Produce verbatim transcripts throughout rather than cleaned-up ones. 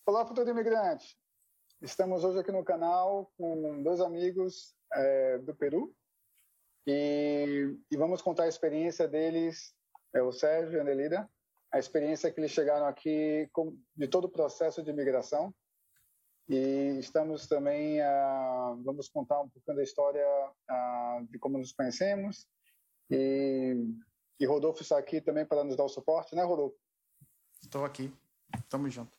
Olá, futuro imigrante! Estamos hoje aqui no canal com dois amigos é, do Peru e, e vamos contar a experiência deles, é, o Sérgio e a Nelida, a experiência que eles chegaram aqui com, de todo o processo de imigração. E estamos também, ah, vamos contar um pouquinho da história ah, de como nos conhecemos. E, e Rodolfo está aqui também para nos dar o suporte, né, Rodolfo? Estou aqui. Tamo junto.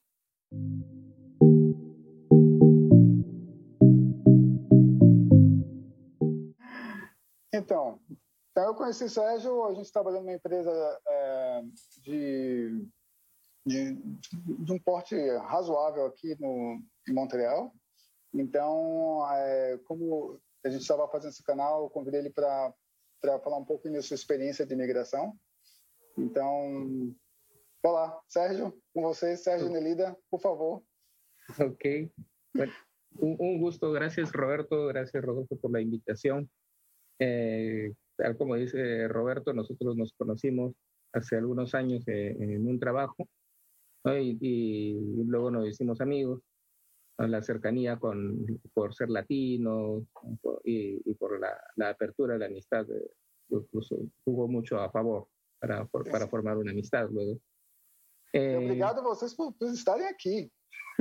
Então, então eu conheci o Sérgio, a gente trabalhando numa empresa é, de, de, de um porte razoável aqui no, em Montreal. Então, é, como a gente estava fazendo esse canal, eu convidei ele para falar um pouco da sua experiência de imigração. Então, olá, Sérgio, com você, Sérgio Nelida, por favor. Ok. Bueno, un, un gusto. Gracias, Roberto. Gracias, Rodolfo, por la invitación. Eh, tal como dice Roberto, nosotros nos conocimos hace algunos años eh, en un trabajo, ¿no? y, y luego nos hicimos amigos. La cercanía con, por ser latinos y, y por la, la apertura de la amistad, incluso jugó mucho a favor para, por, para formar una amistad luego. Eh, Obrigado a vocês por, por estarem aqui.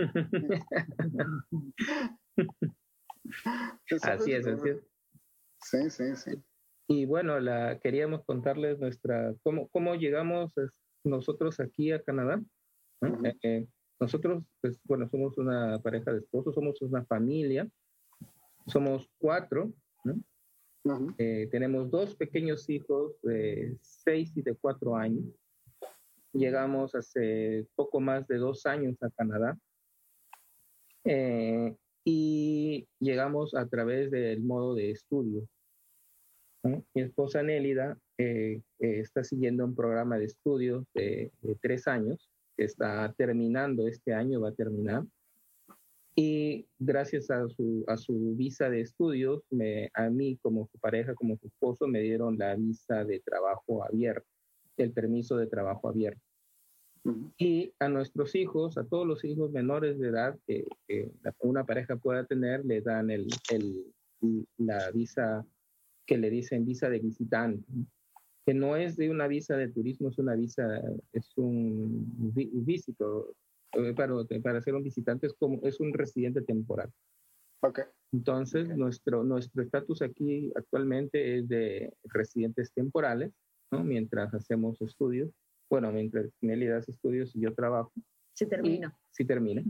Así es, así es. Sí, sí, sí. Y bueno, la, queríamos contarles nuestra, cómo, cómo llegamos nosotros aquí a Canadá, ¿no? Uh-huh. eh, Nosotros, pues, bueno, somos una pareja de esposos, somos una familia, somos cuatro, ¿no? Uh-huh. Eh, tenemos dos pequeños hijos de seis y de cuatro años. Llegamos hace poco más de dos años a Canadá eh, y llegamos a través del modo de estudio, ¿no? Mi esposa Nélida eh, eh, está siguiendo un programa de estudios de, de tres años. Está terminando este año, va a terminar. Y gracias a su, a su visa de estudios, me, a mí como su pareja, como su esposo, me dieron la visa de trabajo abierto, el permiso de trabajo abierto. Uh-huh. Y a nuestros hijos, a todos los hijos menores de edad que, que una pareja pueda tener, le dan el, el, la visa que le dicen visa de visitante, que no es de una visa de turismo, es una visa, es un visito, para, para ser un visitante es como, es un residente temporal. Okay. Entonces, okay. nuestro nuestro estatus aquí actualmente es de residentes temporales, ¿no? Mientras hacemos estudios, bueno, mientras Nelly hace estudios y yo trabajo. Sí termino. Y, sí termina.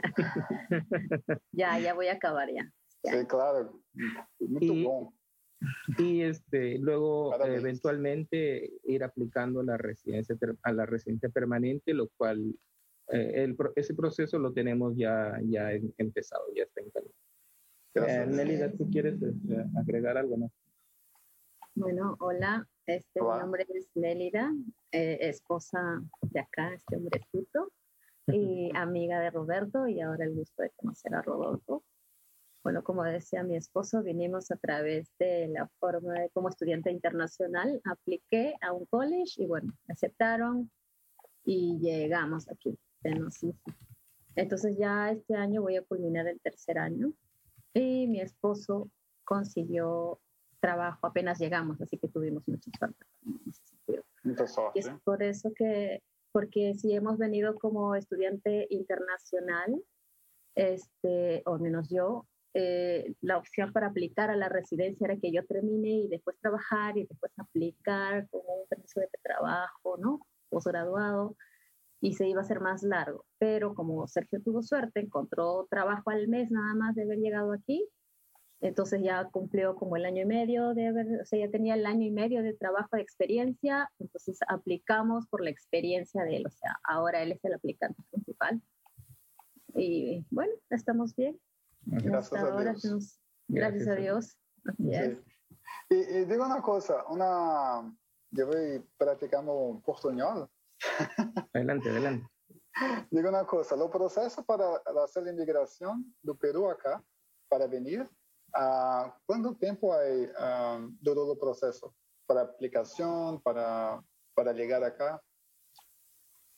ya, ya voy a acabar ya. ya. Sí, claro. Muy y, bueno. Y este, luego eh, eventualmente ir aplicando la residencia, a la residencia permanente, lo cual eh, el, ese proceso lo tenemos ya, ya empezado, ya está en camino. Eh, Nélida, ¿tú quieres eh, agregar algo más? Bueno, hola, este, hola. Mi nombre es Nélida, eh, esposa de acá, este hombrecito, y amiga de Roberto, y ahora el gusto de conocer a Rodolfo. Bueno, como decía mi esposo, vinimos a través de la forma de como estudiante internacional. Apliqué a un college y bueno, me aceptaron y llegamos aquí. Entonces ya este año voy a culminar el tercer año y mi esposo consiguió trabajo apenas llegamos, así que tuvimos mucha suerte. Mucha suerte. Y es por eso que, porque si hemos venido como estudiante internacional, este, o menos yo, Eh, la opción para aplicar a la residencia era que yo termine y después trabajar y después aplicar como un permiso de trabajo, ¿no? Posgraduado, y se iba a hacer más largo. Pero como Sergio tuvo suerte, encontró trabajo al mes nada más de haber llegado aquí, entonces ya cumplió como el año y medio de haber, o sea, ya tenía el año y medio de trabajo de experiencia, entonces aplicamos por la experiencia de él, o sea, ahora él es el aplicante principal. Y bueno, estamos bien. Gracias a ahora, Dios. Nos, gracias, gracias a Dios. Yes. Sí. Y, y digo una cosa, una, yo voy practicando portuñol. Adelante, adelante. Digo una cosa, el proceso para hacer la inmigración del Perú acá, para venir, uh, ¿cuánto tiempo hay, uh, duró el proceso? Para aplicación, para, para llegar acá.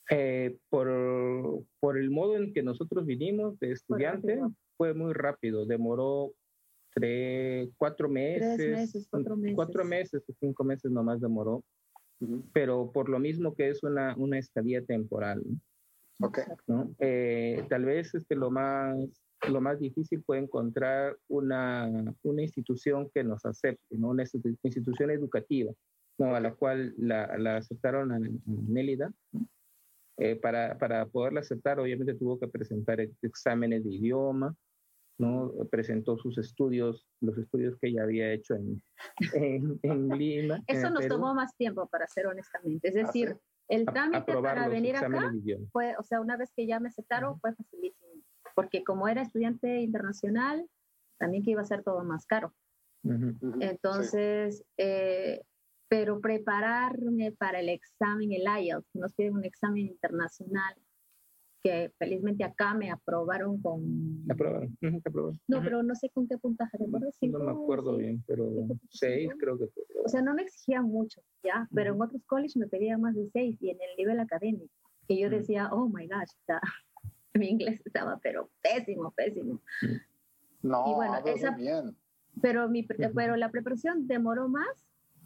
Eh, por, por el modo en que nosotros vinimos de estudiante, fue muy rápido, demoró tres, cuatro meses, Tres meses, cuatro meses. Cuatro meses o cinco meses nomás demoró, uh-huh. Pero por lo mismo que es una, una estadía temporal, ¿no? Okay. ¿No? Eh, tal vez este, lo, más, lo más difícil fue encontrar una, una institución que nos acepte, ¿no? Una institución educativa, ¿no? A la cual la, la aceptaron a, a Nélida. Eh, para, para poderla aceptar, obviamente tuvo que presentar exámenes de idioma, ¿no? Presentó sus estudios, los estudios que ella había hecho en, en, en Lima. Eso en nos Perú. tomó más tiempo, para ser honestamente. Es decir, ¿Ah, sí? el trámite a, para venir acá fue, o sea, una vez que ya me aceptaron, uh-huh. fue facilísimo. Porque como era estudiante internacional, también que iba a ser todo más caro. Uh-huh. Entonces, sí. eh, pero prepararme para el examen, el I E L T S, que nos piden un examen internacional, que felizmente acá me aprobaron con... ¿Aprobaron? Uh-huh, aprobaron. No, uh-huh. pero no sé con qué puntaje, ¿te acuerdas? No me acuerdo seis, bien, pero seis creo que fue. O sea, no me exigían mucho, ¿ya? Uh-huh. Pero en otros colleges me pedían más de seis, y en el nivel académico, que yo uh-huh. decía, oh my gosh, está... mi inglés estaba, pero pésimo, pésimo. Uh-huh. No, y bueno, esa... bien. Pero, mi, uh-huh. pero la preparación demoró más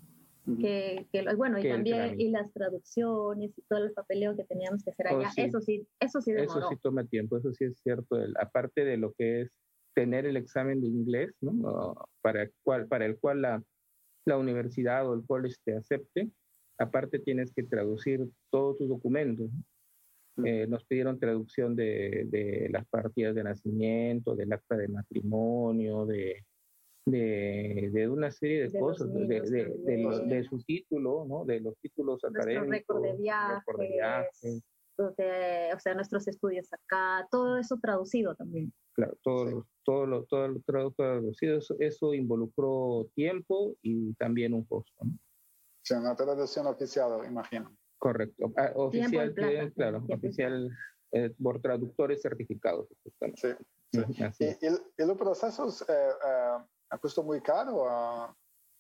que, que bueno, y también y las traducciones y todo el papeleo que teníamos que hacer allá, oh, sí. eso sí, eso sí demoró. Eso sí toma tiempo, eso sí es cierto, el, aparte de lo que es tener el examen de inglés, ¿no? para, el cual, para el cual la, la universidad o el college te acepte, aparte tienes que traducir todos tus documentos. Mm. Eh, nos pidieron traducción de, de las partidas de nacimiento, del acta de matrimonio, de De, de una serie de, de cosas, niños, de, de, de, de, los, de su título, ¿no? De los títulos nuestro académicos. Récord de viajes, récord de viajes. De, o sea, nuestros estudios acá, todo eso traducido también. Claro, todo, sí. todo, lo, todo lo todo traducido, eso, eso involucró tiempo y también un costo, ¿no? Sí, una traducción oficial, imagino. Correcto, ah, oficial, plata, claro, oficial eh, por traductores certificados. Sí, sí. Así. ¿Y, y, y los procesos... Eh, eh, ¿Costó muy caro? A...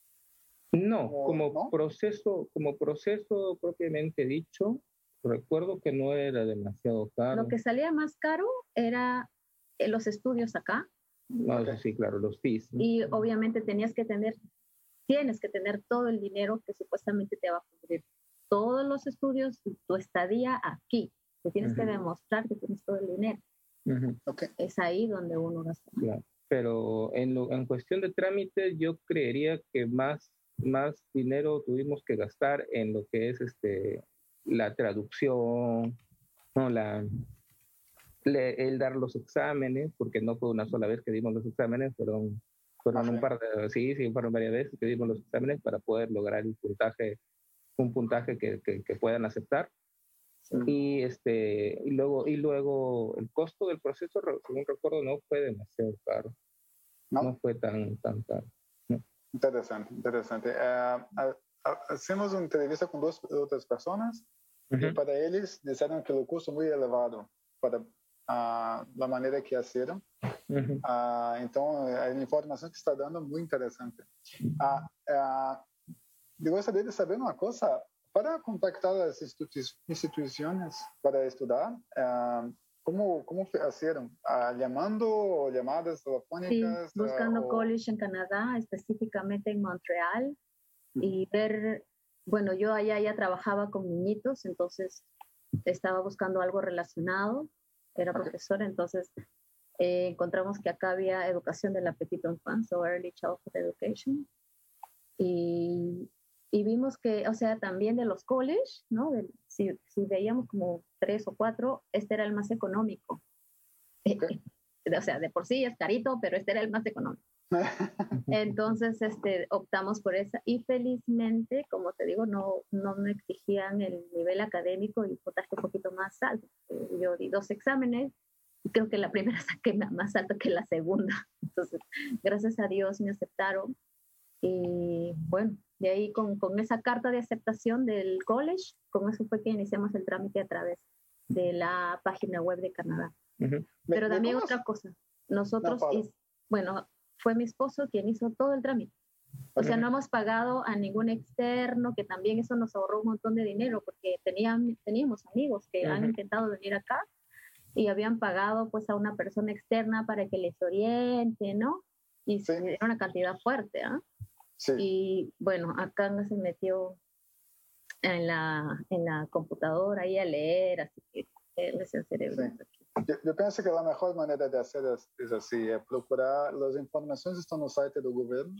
No, como ¿no? proceso, como proceso propiamente dicho, recuerdo que no era demasiado caro. Lo que salía más caro era los estudios acá. No, okay. Sí, claro, los fees, ¿no? Y obviamente tenías que tener, tienes que tener todo el dinero que supuestamente te va a cubrir todos los estudios y tu estadía aquí. Te tienes uh-huh. que demostrar que tienes todo el dinero. Uh-huh. Okay. Es ahí donde uno gasta. Claro. Pero en, lo, en cuestión de trámites, yo creería que más, más dinero tuvimos que gastar en lo que es este, la traducción, ¿no? la, le, el dar los exámenes, porque no fue una sola vez que dimos los exámenes, fueron, fueron un par de, sí, sí, fueron varias veces que dimos los exámenes para poder lograr el puntaje, un puntaje que, que, que puedan aceptar. Sí. Y, este, y, luego, y luego el costo del proceso, según recuerdo, no fue demasiado caro. No, no fue tan, tan caro. No. Interesante, interesante. Uh, uh, uh, hacemos una entrevista con dos otras personas uh-huh. y para ellos dijeron que el costo es muy elevado para uh, la manera que hicieron. Uh-huh. Uh, entonces, la información que está dando es muy interesante. Uh, uh, yo gostaria de saber una cosa. Para contactar las institu- instituciones para estudiar, uh, ¿cómo, cómo hicieron? Uh, ¿Llamando o llamadas telefónicas? Sí, buscando uh, o... college en Canadá, específicamente en Montreal, uh-huh. y ver, bueno, yo allá ya trabajaba con niñitos, entonces estaba buscando algo relacionado, era okay. profesora, entonces eh, encontramos que acá había educación de la petite enfance o early childhood education, y... Y vimos que, o sea, también de los colleges, ¿no? De, si, si veíamos como tres o cuatro, este era el más económico. Okay. O sea, de por sí es carito, pero este era el más económico. Entonces, este, optamos por esa. Y felizmente, como te digo, no, no me exigían el nivel académico y puntaje un poquito más alto. Yo di dos exámenes y creo que la primera saqué más alto que la segunda. Entonces, gracias a Dios me aceptaron. Y bueno, de ahí con, con esa carta de aceptación del college, con eso fue que iniciamos el trámite a través de la página web de Canadá. Uh-huh. Pero ¿Me, también me otra cosa, nosotros, no, hizo, bueno, fue mi esposo quien hizo todo el trámite. O sea, no hemos pagado a ningún externo, que también eso nos ahorró un montón de dinero, porque tenían, teníamos amigos que uh-huh. han intentado venir acá y habían pagado pues a una persona externa para que les oriente, ¿no? Y sí. era una cantidad fuerte, ¿ah? ¿eh? Sí. Y bueno, acá no se metió en la, en la computadora ahí a leer, así que él es el cerebro. Sí. Yo, yo pienso que la mejor manera de hacer es, es así, es procurar, las informaciones están en el site del gobierno,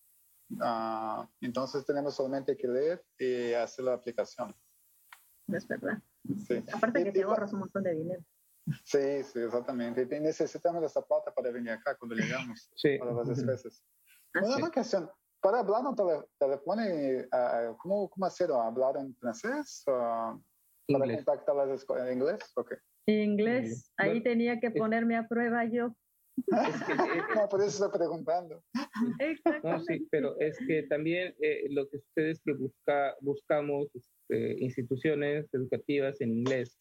uh, entonces tenemos solamente que leer y hacer la aplicación. Es verdad. Sí. Aparte y, que y, te ahorras un montón de dinero. Sí, sí, exactamente. Y necesitamos esta plata para venir acá cuando llegamos, sí. para las despesas. Ah, Una sí. cuestión, para hablar en tele, teléfono, uh, ¿cómo, ¿cómo hacer? ¿Hablar en francés? Uh, ¿Para inglés. contactar las escuelas en inglés? Okay. Inglés, ahí bueno, tenía que ponerme a prueba yo. Es que, eh, no, por eso estoy preguntando. No, sí, pero es que también eh, lo que sucede es que busca, buscamos este, instituciones educativas en inglés,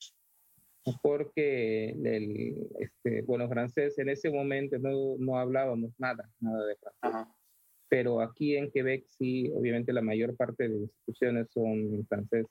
porque el, este, bueno, francés en ese momento no, no hablábamos nada, nada de francés. Ajá. Pero aquí en Quebec sí, obviamente la mayor parte de las instituciones son en francés.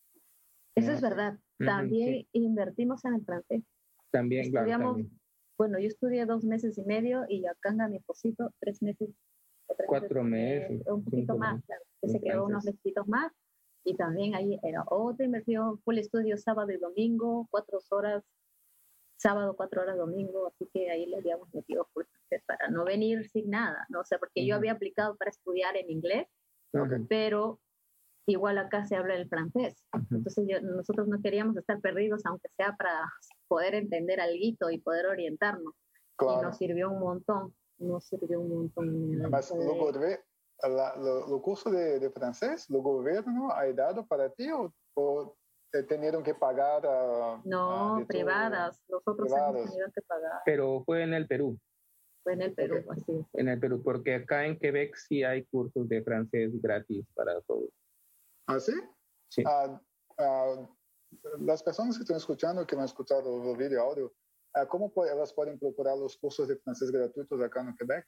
Eso es verdad. También uh-huh, sí. invertimos en el francés. También, Estudiamos, claro, también. Bueno, yo estudié dos meses y medio y acá en mi esposito tres meses. Tres Cuatro meses. meses un poquito más, meses. Claro. Que se quedó unos mesecitos más. Y también ahí era otra inversión, full estudio sábado y domingo, cuatro horas, sábado, cuatro horas domingo. Así que ahí le habíamos metido full francés para no venir sin nada, ¿no? O sea, porque uh-huh. yo había aplicado para estudiar en inglés, uh-huh. pero igual acá se habla el francés. Uh-huh. Entonces yo, nosotros no queríamos estar perdidos, aunque sea para poder entender alguito y poder orientarnos. Claro. Y nos sirvió un montón, nos sirvió un montón. Además, de... luego de la, lo, lo curso de, de francés, ¿el gobierno ha dado para ti o, o te tuvieron que pagar? A, no, a privadas, nosotros privados. hemos tenido que pagar. Pero fue en el Perú. Fue en el Perú, okay. así es. En el Perú, porque acá en Quebec sí hay cursos de francés gratis para todos. ¿Ah, sí? Sí. Uh, uh, las personas que están escuchando, que no han escuchado el video audio, uh, ¿cómo puede, elas pueden procurar los cursos de francés gratuitos acá en Quebec?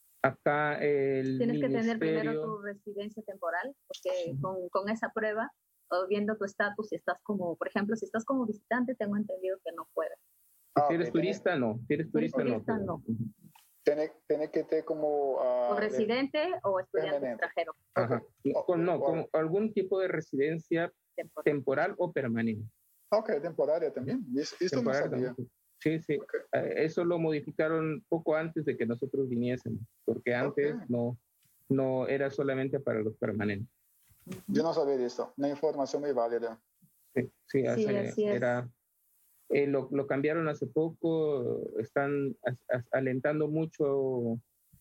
Acá el Tienes ministerio... que tener primero tu residencia temporal, porque con, con esa prueba, o viendo tu estatus, si estás como, por ejemplo, si estás como visitante, tengo entendido que no puedes. Ah, si eres okay, turista, tiene, no. Si eres turista, si eres turista no. no. Tiene, tiene que tener como... Uh, o residente de, o estudiante permanente. Extranjero. Ajá. Okay. Con, no, como algún tipo de residencia temporal, temporal o permanente. Ok, temporaria también. Esto no sabía. Sí, sí. Okay. Eso lo modificaron poco antes de que nosotros viniésemos, porque antes okay. no, no era solamente para los permanentes. Yo no sabía de esto. Una información muy válida. Sí, sí, hace, sí así es. Era... Eh, lo, lo cambiaron hace poco, están as, as, alentando mucho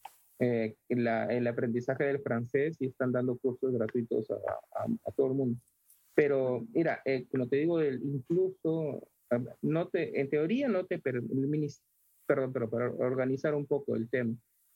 eh, la, el aprendizaje del francés y están dando cursos gratuitos a, a, a todo el mundo. Pero mira, eh, como te digo, el, incluso, no te, en teoría no te permite, perdón, pero para organizar un poco el tema,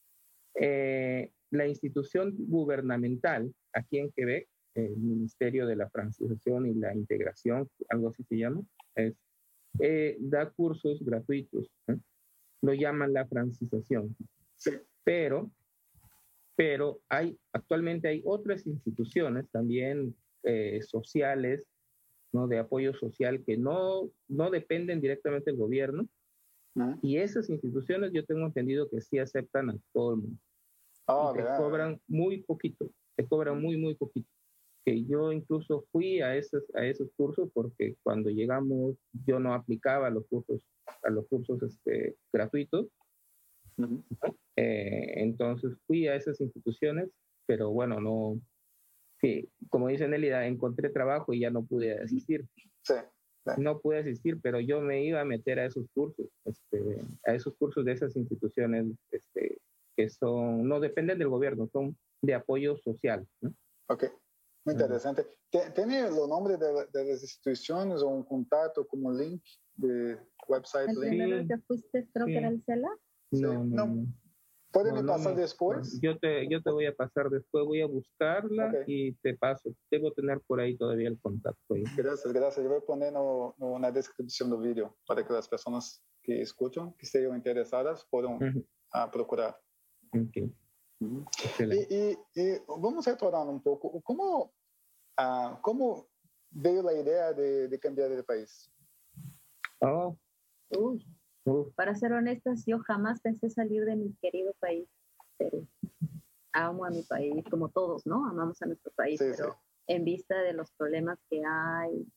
eh, la institución gubernamental aquí en Quebec, el Ministerio de la Francización y la Integración, algo así se llama, es Eh, da cursos gratuitos, ¿eh? Lo llaman la francización, sí. pero, pero hay, actualmente hay otras instituciones también eh, sociales, ¿no? De apoyo social que no, no dependen directamente del gobierno, ¿Mm? y esas instituciones yo tengo entendido que sí aceptan a todo el mundo. Oh, y te yeah. cobran muy poquito, te cobran muy, muy poquito. Que yo incluso fui a esos, a esos cursos porque cuando llegamos yo no aplicaba a los cursos, a los cursos este, gratuitos. Uh-huh. Eh, entonces fui a esas instituciones, pero bueno, no, sí, como dice Nelida, encontré trabajo y ya no pude asistir. Sí, sí. No pude asistir, pero yo me iba a meter a esos cursos, este, a esos cursos de esas instituciones este, que son, no dependen del gobierno, son de apoyo social, ¿no? Ok. Muy interesante. ¿Tiene los nombres de, de las instituciones o un contacto como link de website? ¿El link? primero que fuiste creo sí. que era el CELA? No, sí. no, no. no. ¿Pueden no, me no pasar me, después? Yo te, yo te voy a pasar después, voy a buscarla okay. y te paso. Debo tener por ahí todavía el contacto. Ahí. Gracias, gracias. Yo voy a poner no, no, una descripción del video para que las personas que escuchan, que estén interesadas, puedan uh-huh. uh, procurar. Okay. E, e, e vamos retornar um pouco. Como, ah, como veio a ideia de, de cambiar de país? Oh, Uy, uh, para ser honestas, yo jamás pensé salir de mi querido país, Perú. Amo a mi país, como todos, ¿no? Amamos a nuestro país, Sí, pero sí. en vista de los problemas que hay,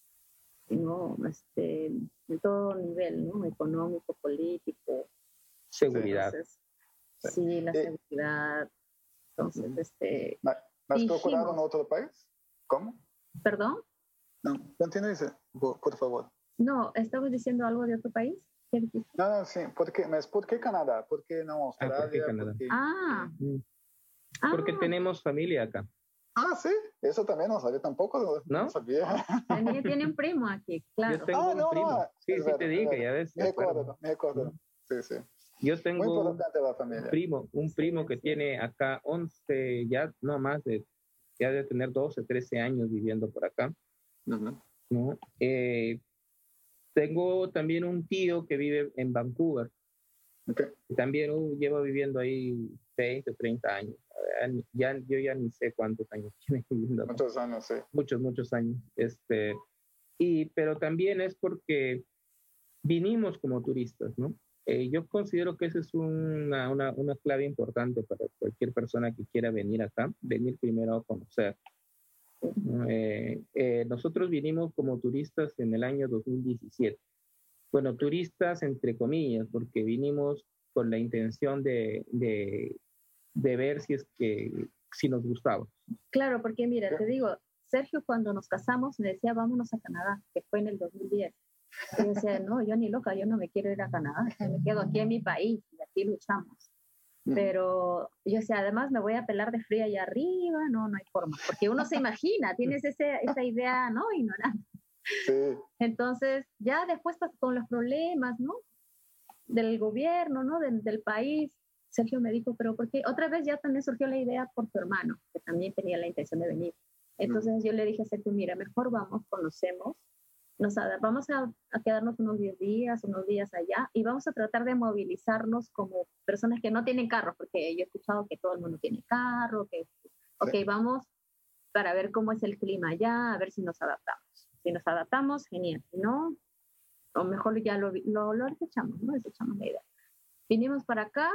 ¿no? Este, en todo nivel, ¿no? Económico, político. seguridad. Entonces, sí, la Eh, seguridad. Entonces, este, Mas, mas procuraram dijimos, outro país? Como? ¿perdón? Não, continue, por, por favor. No, ¿estabas diciendo algo de otro país? ¿Qué dijiste? Não, não, sim. Por que, mas por que Canadá? Por que não Ah, ¿por qué Austrália? Canadá? Por que- Ah, Mm. ah, Porque tenemos familia acá, Ah, sim. Isso também não sabia tampoco. Não, ¿no? sabia. tenía, tiene un primo aquí, Yo claro. tengo Ah, un não, primo. não. Sí, É sí, verdade, te é dije, verdade. ya ves. Me de acuerdo. recordo, me recordo. Sim, sim. Yo Muy tengo un importante la familia. primo, un primo que Sí. tiene acá once, ya no más de, ya de tener doce, trece años viviendo por acá, Uhum. ¿no? Eh, tengo también un tío que vive en Vancouver, Ok. que también uh, lleva viviendo ahí veinte, treinta años. Ya, yo ya ni sé cuántos años tiene viviendo acá. Muitos anos, sim. Muchos, muchos años. Este, y, pero también es porque vinimos como turistas, ¿no? Eh, yo considero que esa es una, una, una clave importante para cualquier persona que quiera venir acá, venir primero a conocer. ¿No? Eh, eh, nosotros vinimos como turistas en el año dos mil diecisiete. Bueno, turistas entre comillas, porque vinimos con la intención de, de, de ver si es que si nos gustaba. Claro, porque mira, te digo, Sergio cuando nos casamos me decía, vámonos a Canadá, que fue en el dos mil diez. Y yo decía, no, yo ni loca, yo no me quiero ir a Canadá, yo me quedo aquí en mi país y aquí luchamos. Pero yo decía, además me voy a pelar de frío allá arriba, no, no hay forma, porque uno se imagina, tienes ese, esa idea, ¿no? Ignorante. Sí. Entonces, ya después con los problemas, ¿no? Del gobierno, ¿no? Del, del país, Sergio me dijo, pero ¿por qué? Otra vez ya también surgió la idea por tu hermano, que también tenía la intención de venir. Entonces mm. yo le dije a Sergio, mira, mejor vamos, conocemos, nos vamos a, a quedarnos unos diez días, unos días allá, y vamos a tratar de movilizarnos como personas que no tienen carro, porque yo he escuchado que todo el mundo tiene carro, que, ok, sí. Vamos para ver cómo es el clima allá, a ver si nos adaptamos. Si nos adaptamos, genial. Si no, o mejor ya lo, lo, lo desechamos, ¿no? Desechamos la idea. Vinimos para acá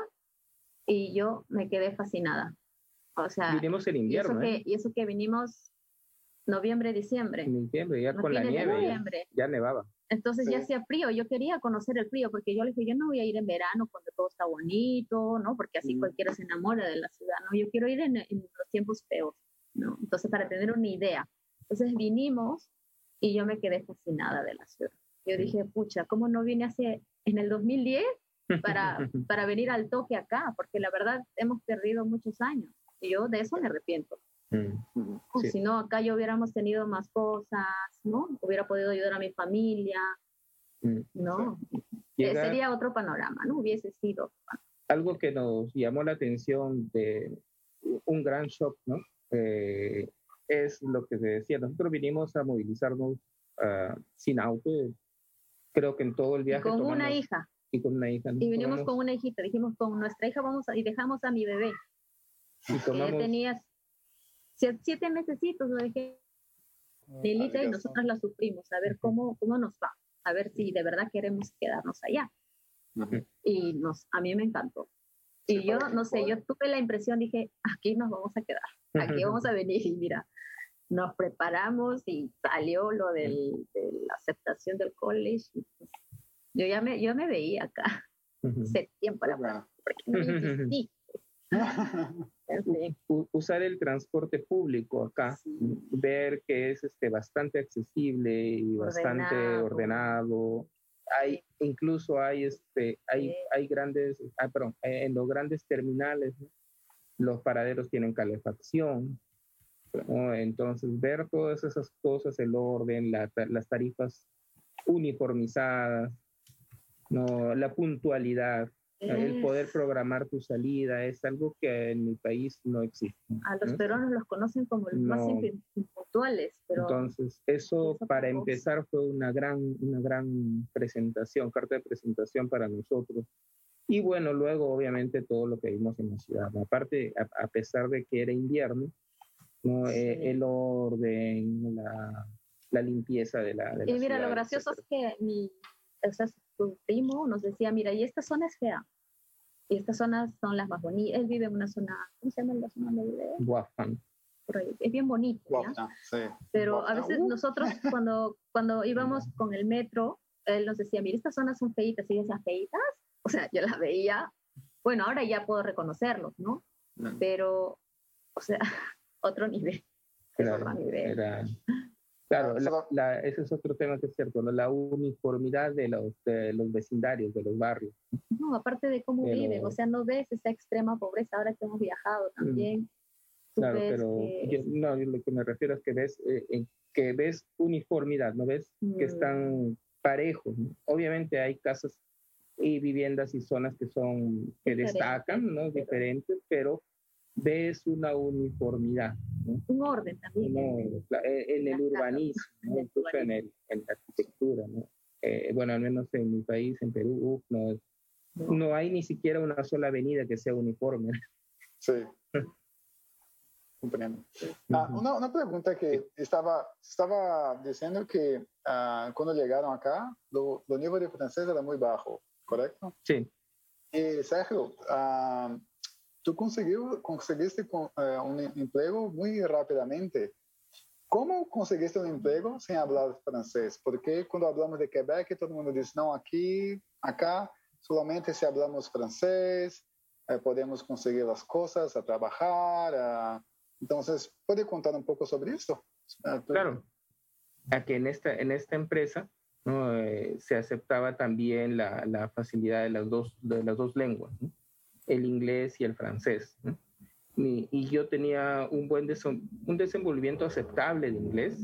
y yo me quedé fascinada. O sea, vinimos en invierno, y eso, ¿eh? que, y eso que vinimos noviembre, diciembre. En diciembre, ya no con la nieve, ya, ya nevaba. Entonces sí. ya hacía frío, yo quería conocer el frío, porque yo le dije, yo no voy a ir en verano cuando todo está bonito, ¿no? Porque así mm. cualquiera se enamora de la ciudad, ¿no? Yo quiero ir en, en los tiempos feos, ¿no? Entonces, para tener una idea. Entonces vinimos y yo me quedé fascinada de la ciudad. Yo dije, pucha, ¿cómo no vine hace, en el dos mil diez para, para venir al toque acá? Porque la verdad hemos perdido muchos años y yo de eso me arrepiento. Mm. Sí. Si no, acá yo hubiéramos tenido más cosas, ¿no? Hubiera podido ayudar a mi familia, mm. ¿no? Llega, eh, sería otro panorama, ¿no? Hubiese sido. Algo que nos llamó la atención de un gran shock, ¿no? Eh, es lo que se decía, nosotros vinimos a movilizarnos uh, sin auto, creo que en todo el viaje. Con tomamos, una hija. Y con una hija. ¿no? Y vinimos tomamos, con una hijita, dijimos, con nuestra hija vamos a, y dejamos a mi bebé. Y tomamos, que tenía siete mesecitos, lo dejé Lilita y nosotras la sufrimos, a ver cómo, cómo nos va, a ver si de verdad queremos quedarnos allá. Uh-huh. Y nos, a mí me encantó. Y sí, yo, no sé, yo tuve la impresión, dije, aquí nos vamos a quedar, aquí vamos a venir. Y mira, nos preparamos y salió lo del, de la aceptación del college. Yo ya me, yo me veía acá, uh-huh. septiembre para atrás, porque no insistí. Usar el transporte público acá, sí. Ver que es este, bastante accesible y ordenado. Bastante ordenado. Hay, incluso hay, este, hay, sí. hay grandes, ah, perdón, en los grandes terminales, ¿no? Los paraderos tienen calefacción, ¿no? Entonces ver todas esas cosas, el orden, la, las tarifas uniformizadas, ¿no? La puntualidad. El poder programar tu salida es algo que en mi país no existe. A los ¿no? peruanos los conocen como los no. más impuntuales. Pero entonces, eso, eso para empezar fue una gran, una gran presentación, carta de presentación para nosotros. Y bueno, luego obviamente todo lo que vimos en la ciudad, ¿no? Aparte, a, a pesar de que era invierno, ¿no? Sí. Eh, el orden, la, la limpieza de la, de la Y mira, ciudad, lo gracioso etcétera. es que mi, o sea, tu primo nos decía, mira, y esta zona es fea, y estas zonas son las más bonitas. Él vive en una zona, ¿cómo se llama la zona donde vive? Guafán. Por ahí. Es bien bonito, ¿ya? Guapna, sí. Pero Guapna, a veces uh. nosotros cuando, cuando íbamos con el metro, él nos decía, mira, estas zonas son feitas, y yo decía, ¿feitas? O sea, yo las veía, bueno, ahora ya puedo reconocerlos, ¿no? Mm. Pero, o sea, otro nivel. Es Claro, otro nivel. era, claro Ah, la, solo- la, ese es otro tema que es cierto, ¿no? La uniformidad de los, de los vecindarios, de los barrios. No, aparte de cómo Pero- viven, o sea, no ves esa extrema pobreza ahora que hemos viajado también. Tú Claro, ves pero que- yo, no, yo lo que me refiero es que ves, eh, en- que ves uniformidad, ¿no ves? Que Mm. están parejos, ¿no? Obviamente hay casas y viviendas y zonas que son, que Diferentes, destacan, ¿no? pero- Diferentes, pero ves una uniformidad, ¿no? un orden también. No, la- eh, en el Las casas, urbanismo, ¿no? en el Incluso en, el, en la arquitectura, ¿no? Eh, bueno, al menos en mi país, en Perú, uf, no, no hay ni siquiera una sola avenida que sea uniforme. Sí. Compreendo. Ah, Ujú. una, una pregunta que estaba, estaba diciendo que ah, cuando llegaron acá, lo, lo nivel de francés era muy bajo, ¿correcto? Sí, Y Sergio, ah, tú consiguió, conseguiste con, eh, un empleo muy rápidamente. ¿Cómo conseguiste un empleo sin hablar francés? Porque cuando hablamos de Quebec, todo el mundo dice, no, aquí, acá, solamente si hablamos francés, eh, podemos conseguir las cosas, a trabajar. A... Entonces, ¿puede contar un poco sobre esto? Ah, tú- claro. A que en esta, en esta empresa, ¿no? Eh, se aceptaba también la, la facilidad de las dos, de las dos lenguas, ¿no? El inglés y el francés, ¿no? Y, y yo tenía un buen desen- un desenvolvimiento aceptable de inglés.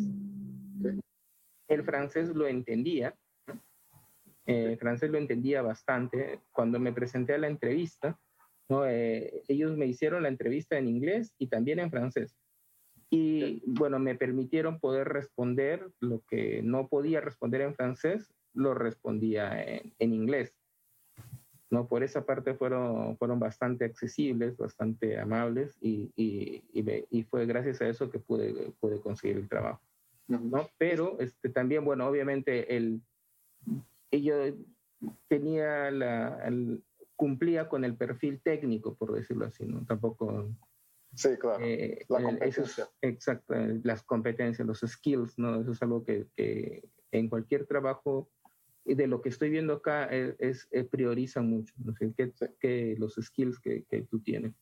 El francés lo entendía, ¿no? Eh, el francés lo entendía bastante. Cuando me presenté a la entrevista, ¿no? Eh, ellos me hicieron la entrevista en inglés y también en francés. Y bueno, me permitieron poder responder lo que no podía responder en francés, lo respondía en, en inglés. ¿No? Por esa parte fueron, fueron bastante accesibles, bastante amables y, y, y, me, y fue gracias a eso que pude, pude conseguir el trabajo, ¿no? Pero este, también, bueno, obviamente el, yo tenía la, el, cumplía con el perfil técnico, por decirlo así, ¿no? Tampoco... Sí, claro. Eh, La eh, competencia. eso es, exacto, eh, las competencias, los skills, ¿no? Eso es algo que, que en cualquier trabajo, y de lo que estoy viendo acá, es, es eh, priorizan mucho, ¿no? sé, que, que los skills que, que tú tienes.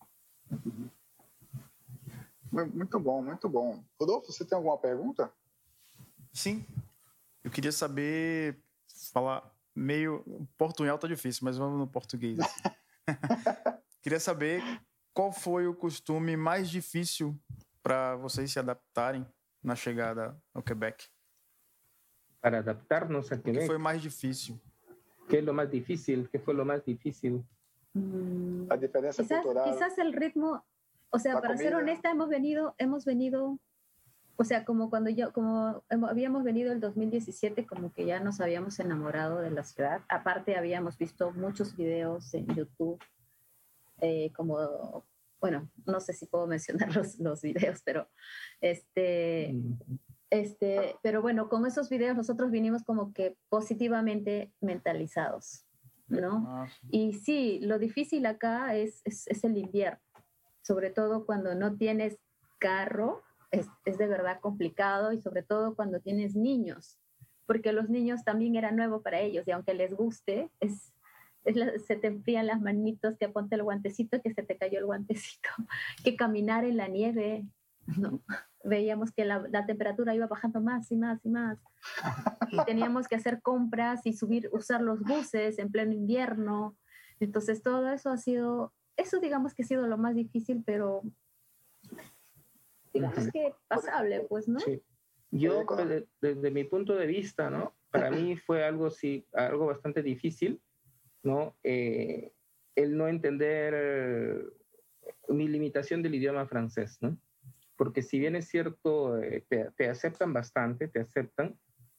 Mu- Muito bom, muito bom. Rodolfo, você tem alguma pergunta? Sim. Eu queria saber falar meio portunhol tá difícil, mas vamos no português. Queria saber qual foi o costume mais difícil para vocês se adaptarem na chegada ao Quebec. Para adaptarnos a O que Quebec, foi mais difícil? ¿qué es lo más difícil? ¿Qué fue lo más difícil? Mm, A diferencia quizás, cultural. quizás el ritmo, o sea, La para ser comida. honesta, hemos venido, hemos venido, o sea, como cuando yo, como hemos- habíamos venido el dos mil diecisiete, como que ya nos habíamos enamorado de la ciudad. Aparte, habíamos visto muchos videos en YouTube, eh, como, bueno, no sé si puedo mencionar los, los videos, pero este, este, pero bueno, con esos videos nosotros vinimos como que positivamente mentalizados, ¿no? Ah, Y sí, lo difícil acá es, es, es el invierno, sobre todo cuando no tienes carro, es, es de verdad complicado y sobre todo cuando tienes niños, porque los niños también era nuevo para ellos y aunque les guste, es, es la- se te enfrían las manitos, que ponte el guantecito, que se te cayó el guantecito, que caminar en la nieve, ¿no? Veíamos que la, la temperatura iba bajando más y más y más y teníamos que hacer compras y subir, usar los buses en pleno invierno. Entonces todo eso ha sido, eso digamos que ha sido lo más difícil, pero digamos Ujú. que pasable, pues, ¿no? Sí. Yo, pues, de- desde mi punto de vista, ¿no? Para mí fue algo, sí, algo bastante difícil, ¿no? Eh, el no entender eh, mi limitación del idioma francés, ¿no? Porque si bien es cierto, eh, te, te aceptan bastante, te aceptan,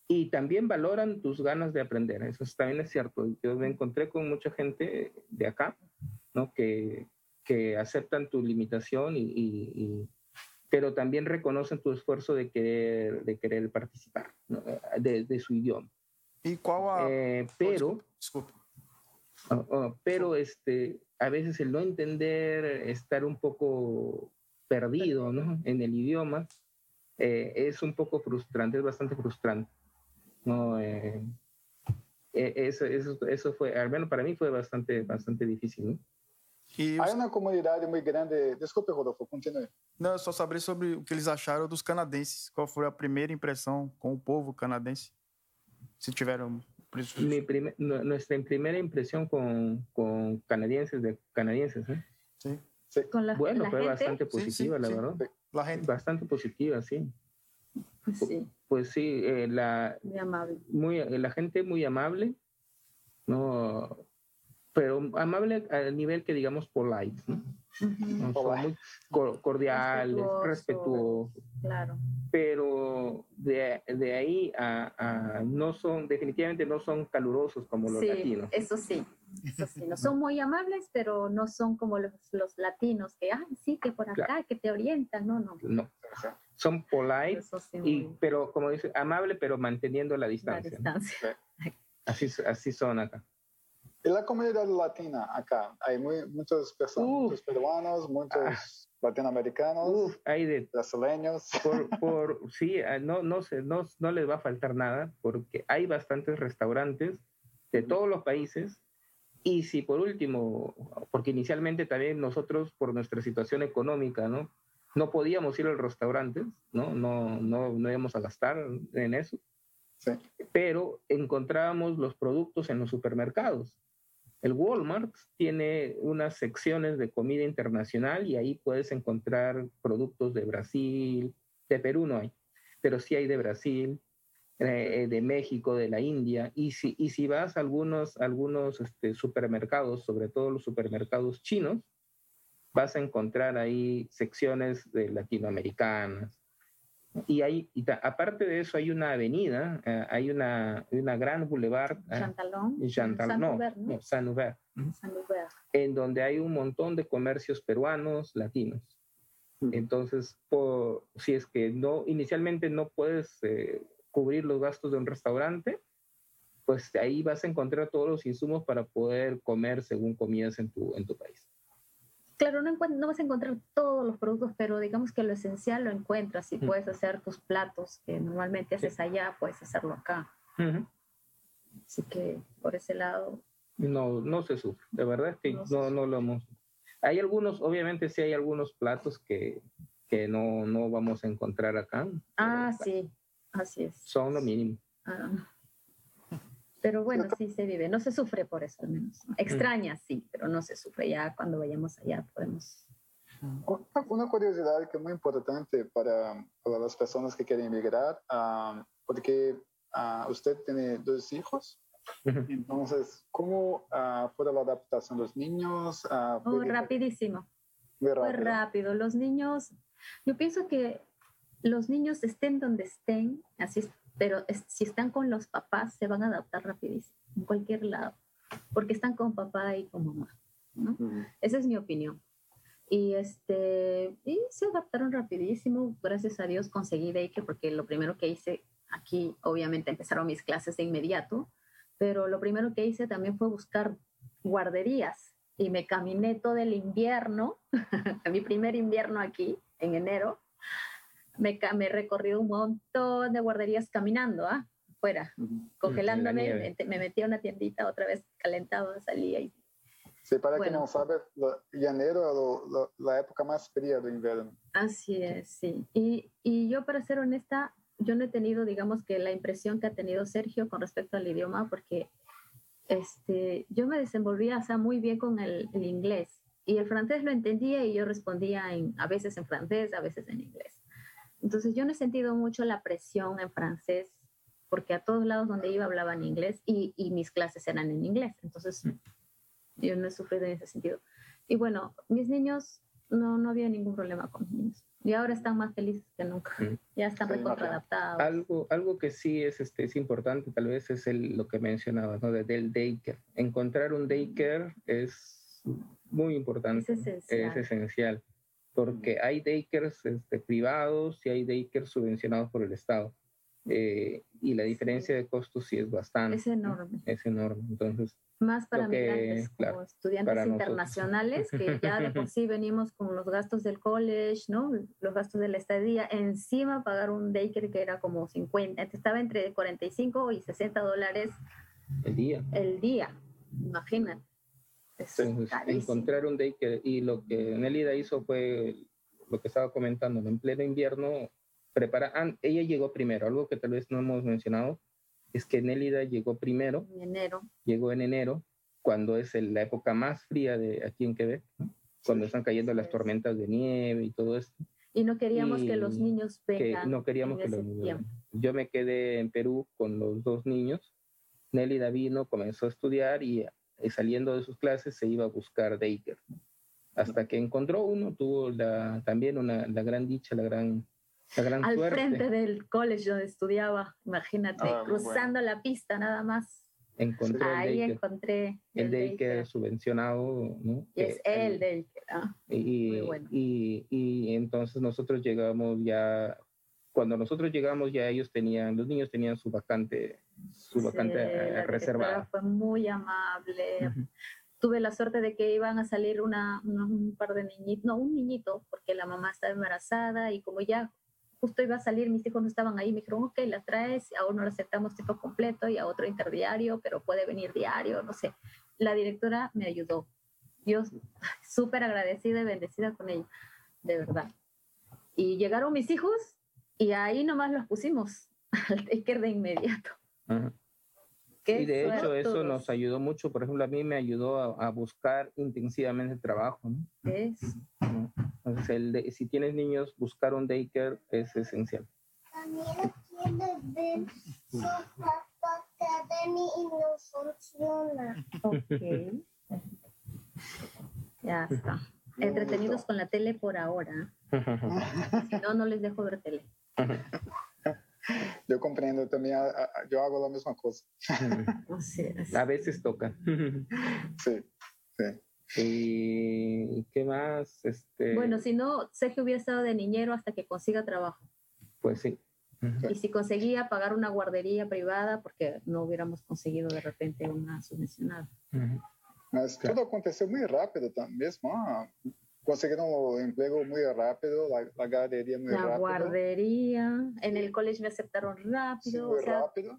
y también valoran tus ganas de aprender. Eso también es cierto. Yo me encontré con mucha gente de acá, ¿no? que, que aceptan tu limitación, y, y, y, pero también reconocen tu esfuerzo de querer, de querer participar, ¿no? de, de su idioma. ¿Y cuál a... eh, pero, oh, disculpe, disculpe. Oh, oh, pero este, a veces el no entender, estar un poco perdido, ¿no? en el idioma, eh, es un poco frustrante, es bastante frustrante. No, eh, eso, eso, eso fue, al menos para mí fue bastante, bastante difícil, ¿no? E Há uma comunidade muito grande. Desculpe, Rodolfo, continue. Não, eu só saber sobre o que eles acharam dos canadenses. Qual foi a primeira impressão com o povo canadense? Si tiveron... Mi primer, nuestra primera impresión con, con canadienses, de canadienses, ¿eh? Sí. Sí. Con la, bueno, la fue gente. bastante positiva, sí, sí, la sí. verdad. La gente. Bastante positiva, sí. Pues sí. Pues sí, eh, la, muy amable. Muy, la gente muy amable, ¿no? Pero amable al nivel que digamos polite, ¿no? Uh-huh. ¿No? Son muy cordiales, respetuoso, respetuosos. Claro. Pero de, de ahí a, a no son, definitivamente no son calurosos como los sí, latinos. Eso sí, eso sí. No son muy amables, pero no son como los, los latinos, que, ay, sí, que por acá, claro, que te orientan. No, no. No. Son polite, sí, y, muy... pero como dice, amable, pero manteniendo la distancia. La distancia. ¿No? Así, así son acá. ¿Y la comunidad latina acá? Hay muy, muchas personas, uh, muchos peruanos, muchos ah, latinoamericanos, uh, hay de, brasileños. Por, por, sí, no, no, se, no, no les va a faltar nada, porque hay bastantes restaurantes de todos los países. Y si por último, porque inicialmente también nosotros, por nuestra situación económica, ¿no? No podíamos ir a los restaurantes, ¿no? No, no, no íbamos a gastar en eso. Sí. Pero encontrábamos los productos en los supermercados. El Walmart tiene unas secciones de comida internacional y ahí puedes encontrar productos de Brasil, de Perú no hay, pero sí hay de Brasil, eh, de México, de la India. Y si, y si vas a algunos, algunos este, supermercados, sobre todo los supermercados chinos, vas a encontrar ahí secciones de latinoamericanas. Y, hay, y ta, aparte de eso hay una avenida, eh, hay una, una gran boulevard. Chantalón. Eh, Chantal, no, Saint-Hubert, ¿no? no, Saint-Hubert. Saint-Hubert. En donde hay un montón de comercios peruanos, latinos. Mm. Entonces, por, si es que no, inicialmente no puedes eh, cubrir los gastos de un restaurante, pues ahí vas a encontrar todos los insumos para poder comer según comías en tu, en tu país. Claro, no, no vas a encontrar todos los productos, pero digamos que lo esencial lo encuentras y mm. puedes hacer tus platos que normalmente haces sí. allá, puedes hacerlo acá. Uh-huh. Así que por ese lado... No, no se sufre, de verdad es que no, no, no lo hemos... Hay algunos, obviamente sí hay algunos platos que, que no, no vamos a encontrar acá. Ah, sí, así es. Son lo mínimo. Ah. Pero bueno, sí se vive, no se sufre por eso al menos. Extraña, sí, pero no se sufre. Ya cuando vayamos allá podemos... Una curiosidad que es muy importante para, para las personas que quieren emigrar, uh, porque uh, usted tiene dos hijos, uh-huh. Entonces, ¿cómo uh, fue la adaptación de los niños? Uh, oh, rapidísimo. Muy rápido. Fue rápido. Los niños, yo pienso que los niños estén donde estén, así es. Pero es, si están con los papás, se van a adaptar rapidísimo, en cualquier lado, porque están con papá y con mamá, ¿no? Uh-huh. Esa es mi opinión. Y, este, y se adaptaron rapidísimo, gracias a Dios conseguí daycare, porque lo primero que hice aquí, obviamente empezaron mis clases de inmediato, pero lo primero que hice también fue buscar guarderías, y me caminé todo el invierno, mi primer invierno aquí, en enero, Me, me he recorrido un montón de guarderías caminando, ¿ah? Fuera, uh-huh. Congelándome, me, me metí a una tiendita, otra vez calentado, salía y... Sí, para bueno. Que no sabe, enero es la, la época más fría del invierno. Así es, sí. Y, y yo, para ser honesta, yo no he tenido, digamos, que la impresión que ha tenido Sergio con respecto al idioma, porque este, yo me desenvolvía, o sea, muy bien con el, el inglés. Y el francés lo entendía y yo respondía en, a veces en francés, a veces en inglés. Entonces yo no he sentido mucho la presión en francés, porque a todos lados donde iba hablaban inglés y, y mis clases eran en inglés. Entonces yo no he sufrido en ese sentido. Y bueno, mis niños, no, no había ningún problema con mis niños. Y ahora están más felices que nunca. Mm. Ya están Sí, recontraadaptados. Algo, algo que sí es, este, es importante, tal vez, es el, lo que mencionabas, ¿no? De, del daycare. Encontrar un daycare es muy importante. Es esencial. Es esencial. Porque hay daycares este, privados y hay daycares subvencionados por el Estado. Eh, y la diferencia Sí. de costos sí es bastante. Es enorme. ¿no? Es enorme. Entonces, Más para lo que, migrantes, como claro, estudiantes para nosotros. internacionales, que ya de por sí venimos con los gastos del college, ¿no? Los gastos de la estadía, encima pagar un daycare que era como cincuenta, estaba entre cuarenta y cinco y sesenta dólares el día. el día, imagínate. Es Entonces, carísimo. encontrar un daycare, y lo que Nélida hizo fue lo que estaba comentando, ¿no? En pleno invierno, prepara, ah, ella llegó primero, algo que tal vez no hemos mencionado, es que Nélida llegó primero, En enero. llegó en enero, cuando es el- la época más fría de aquí en Quebec, ¿no? Cuando están cayendo Así las es. tormentas de nieve y todo esto. Y no queríamos Y que los niños que vengan no queríamos en que ese los niños tiempo. vengan. Yo me quedé en Perú con los dos niños. Nélida vino, comenzó a estudiar y, y saliendo de sus clases se iba a buscar daycare. Hasta que encontró uno, tuvo la, también una, la gran dicha, la gran, la gran Al suerte. frente del college donde estudiaba, imagínate, Ah, muy cruzando la pista nada más. Encontró el Ahí daycare, encontré el daycare daycare. subvencionado, ¿no? Y es Que el daycare. Ah, y, muy bueno. y, y entonces nosotros llegamos ya, cuando nosotros llegamos ya ellos tenían, los niños tenían su vacante, su Sí, vacante eh, la directora reservada. fue muy amable. Ujú. Tuve la suerte de que iban a salir una, una- un par de niñitos, no, un niñito, porque la mamá estaba embarazada y como ya justo iba a salir, mis hijos no estaban ahí, me dijeron, ok, las traes, a uno lo aceptamos tiempo completo y a otro interdiario, pero puede venir diario, no sé. La directora me ayudó. Yo súper agradecida y bendecida con ella, de verdad. Y llegaron mis hijos y ahí nomás los pusimos al daycare de inmediato. Ajá. Qué Y de hecho suertudos. eso nos ayudó mucho, por ejemplo, a mí me ayudó a, a buscar intensivamente trabajo, ¿no? Es, ¿no? Entonces, el de- si tienes niños, buscar un daycare es esencial. Daniela quiere ver su papá Academy y no funciona. ok. Ya está. Entretenidos con la tele por ahora. Si no, no les dejo ver tele. Yo comprendo también, a- a- yo hago la misma cosa. Así es. A veces toca. Sí, sí. ¿Y qué más? Este, Bueno, si no, Sergio hubiera estado de niñero hasta que consiga trabajo. Pues sí. Ujú. Y si conseguía pagar una guardería privada, porque no hubiéramos conseguido de repente una subvencionada. Ujú. Mas Claro. tudo aconteceu muito rápido tam- mesmo. Ah, conseguiram o emprego muito rápido, la, la galería muy La rápido. guardería, en el college me aceptaron Sí, rápido. muy O sea, rápido.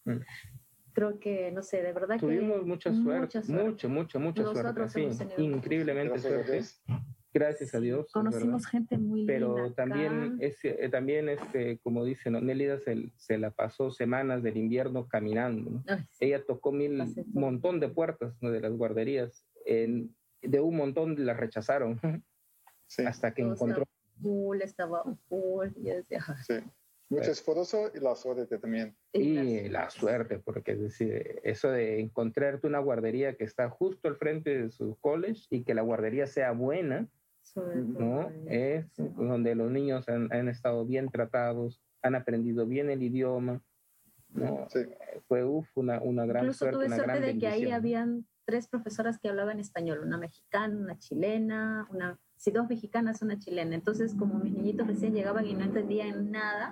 creo que, no sé, de verdad Tuvimos que mucha suerte, mucha suerte. mucha, mucha, mucha Nosotros suerte. hemos Sí, tenido mucha increíblemente Gracias a suerte. Dios. Gracias a Dios. es Conocimos verdad. gente muy linda Pero acá. también, es, eh, también este, como dice, ¿no? Nélida se, se la pasó semanas del invierno caminando, ¿no? Ay, sí. Ella tocó mil, Pasé todo. montón de puertas, ¿no? De las guarderías. En- de un montón las rechazaron Sí, hasta que Todo encontró. estaba full, estaba full. Y yo decía, "Ay". sí. Mucho esfuerzo y la suerte también. Y la suerte, porque es decir, eso de encontrarte una guardería que está justo al frente de su college y que la guardería sea buena, Sobre todo ¿no? Es eso. donde los niños han, han estado bien tratados, han aprendido bien el idioma, ¿no? Sí. Fue uf, una, una gran Incluso suerte, tuve una suerte gran de que ahí bendición. habían tres profesoras que hablaban español, una mexicana, una chilena, una, sí, dos mexicanas, una chilena. Entonces, como mis niñitos recién llegaban y no entendían nada,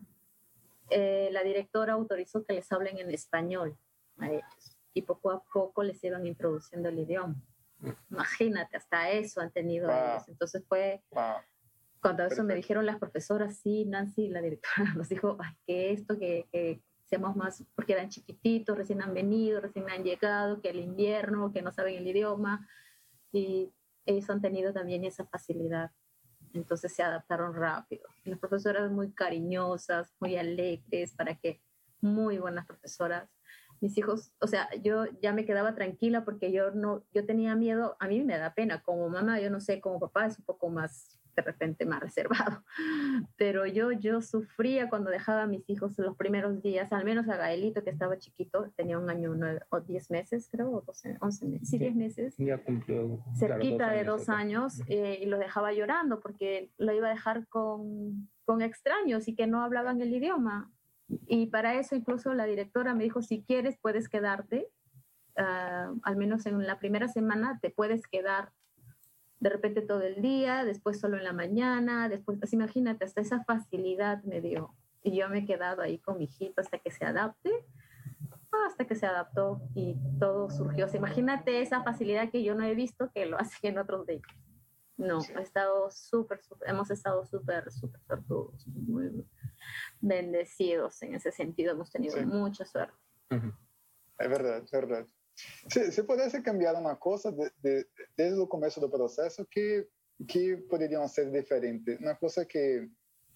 eh, la directora autorizó que les hablen en español a ellos. Y poco a poco les iban introduciendo el idioma. Imagínate, hasta eso han tenido Wow. ellos. Entonces fue, Wow. cuando eso me Perfecto. dijeron las profesoras, sí, Nancy, la directora nos dijo, ay, que esto, que, que seamos más, porque eran chiquititos, recién han venido, recién han llegado, que el invierno, que no saben el idioma, y ellos han tenido también esa facilidad. Entonces se adaptaron rápido. Y las profesoras muy cariñosas, muy alegres, para que, muy buenas profesoras. Mis hijos, o sea, yo ya me quedaba tranquila porque yo no, yo tenía miedo, a mí me da pena, como mamá, yo no sé, como papá es un poco más de repente más reservado. Pero yo, yo sufría cuando dejaba a mis hijos los primeros días, al menos a Gaelito, que estaba chiquito, tenía un año nueve, o diez meses, creo, o doce, once meses, sí, diez meses. Ya cumplió. Cerquita claro, de dos años, eh, y lo dejaba llorando porque lo iba a dejar con, con extraños y que no hablaban el idioma. Y para eso incluso la directora me dijo, si quieres puedes quedarte, uh, al menos en la primera semana te puedes quedar de repente todo el día, después solo en la mañana, después, pues imagínate, hasta esa facilidad me dio. Y yo me he quedado ahí con mi hijito hasta que se adapte, hasta que se adaptó y todo surgió. O sea, imagínate esa facilidad que yo no he visto que lo hacen en otros de No, he estado súper, súper, hemos estado súper, súper sortudos, muy bendecidos en esse sentido, hemos tenido sí. mucha suerte. Uh-huh. É verdade, é verdade. Se, se pudesse cambiar uma coisa de, de, desde o começo do processo, que que poderiam ser diferente? Uma coisa que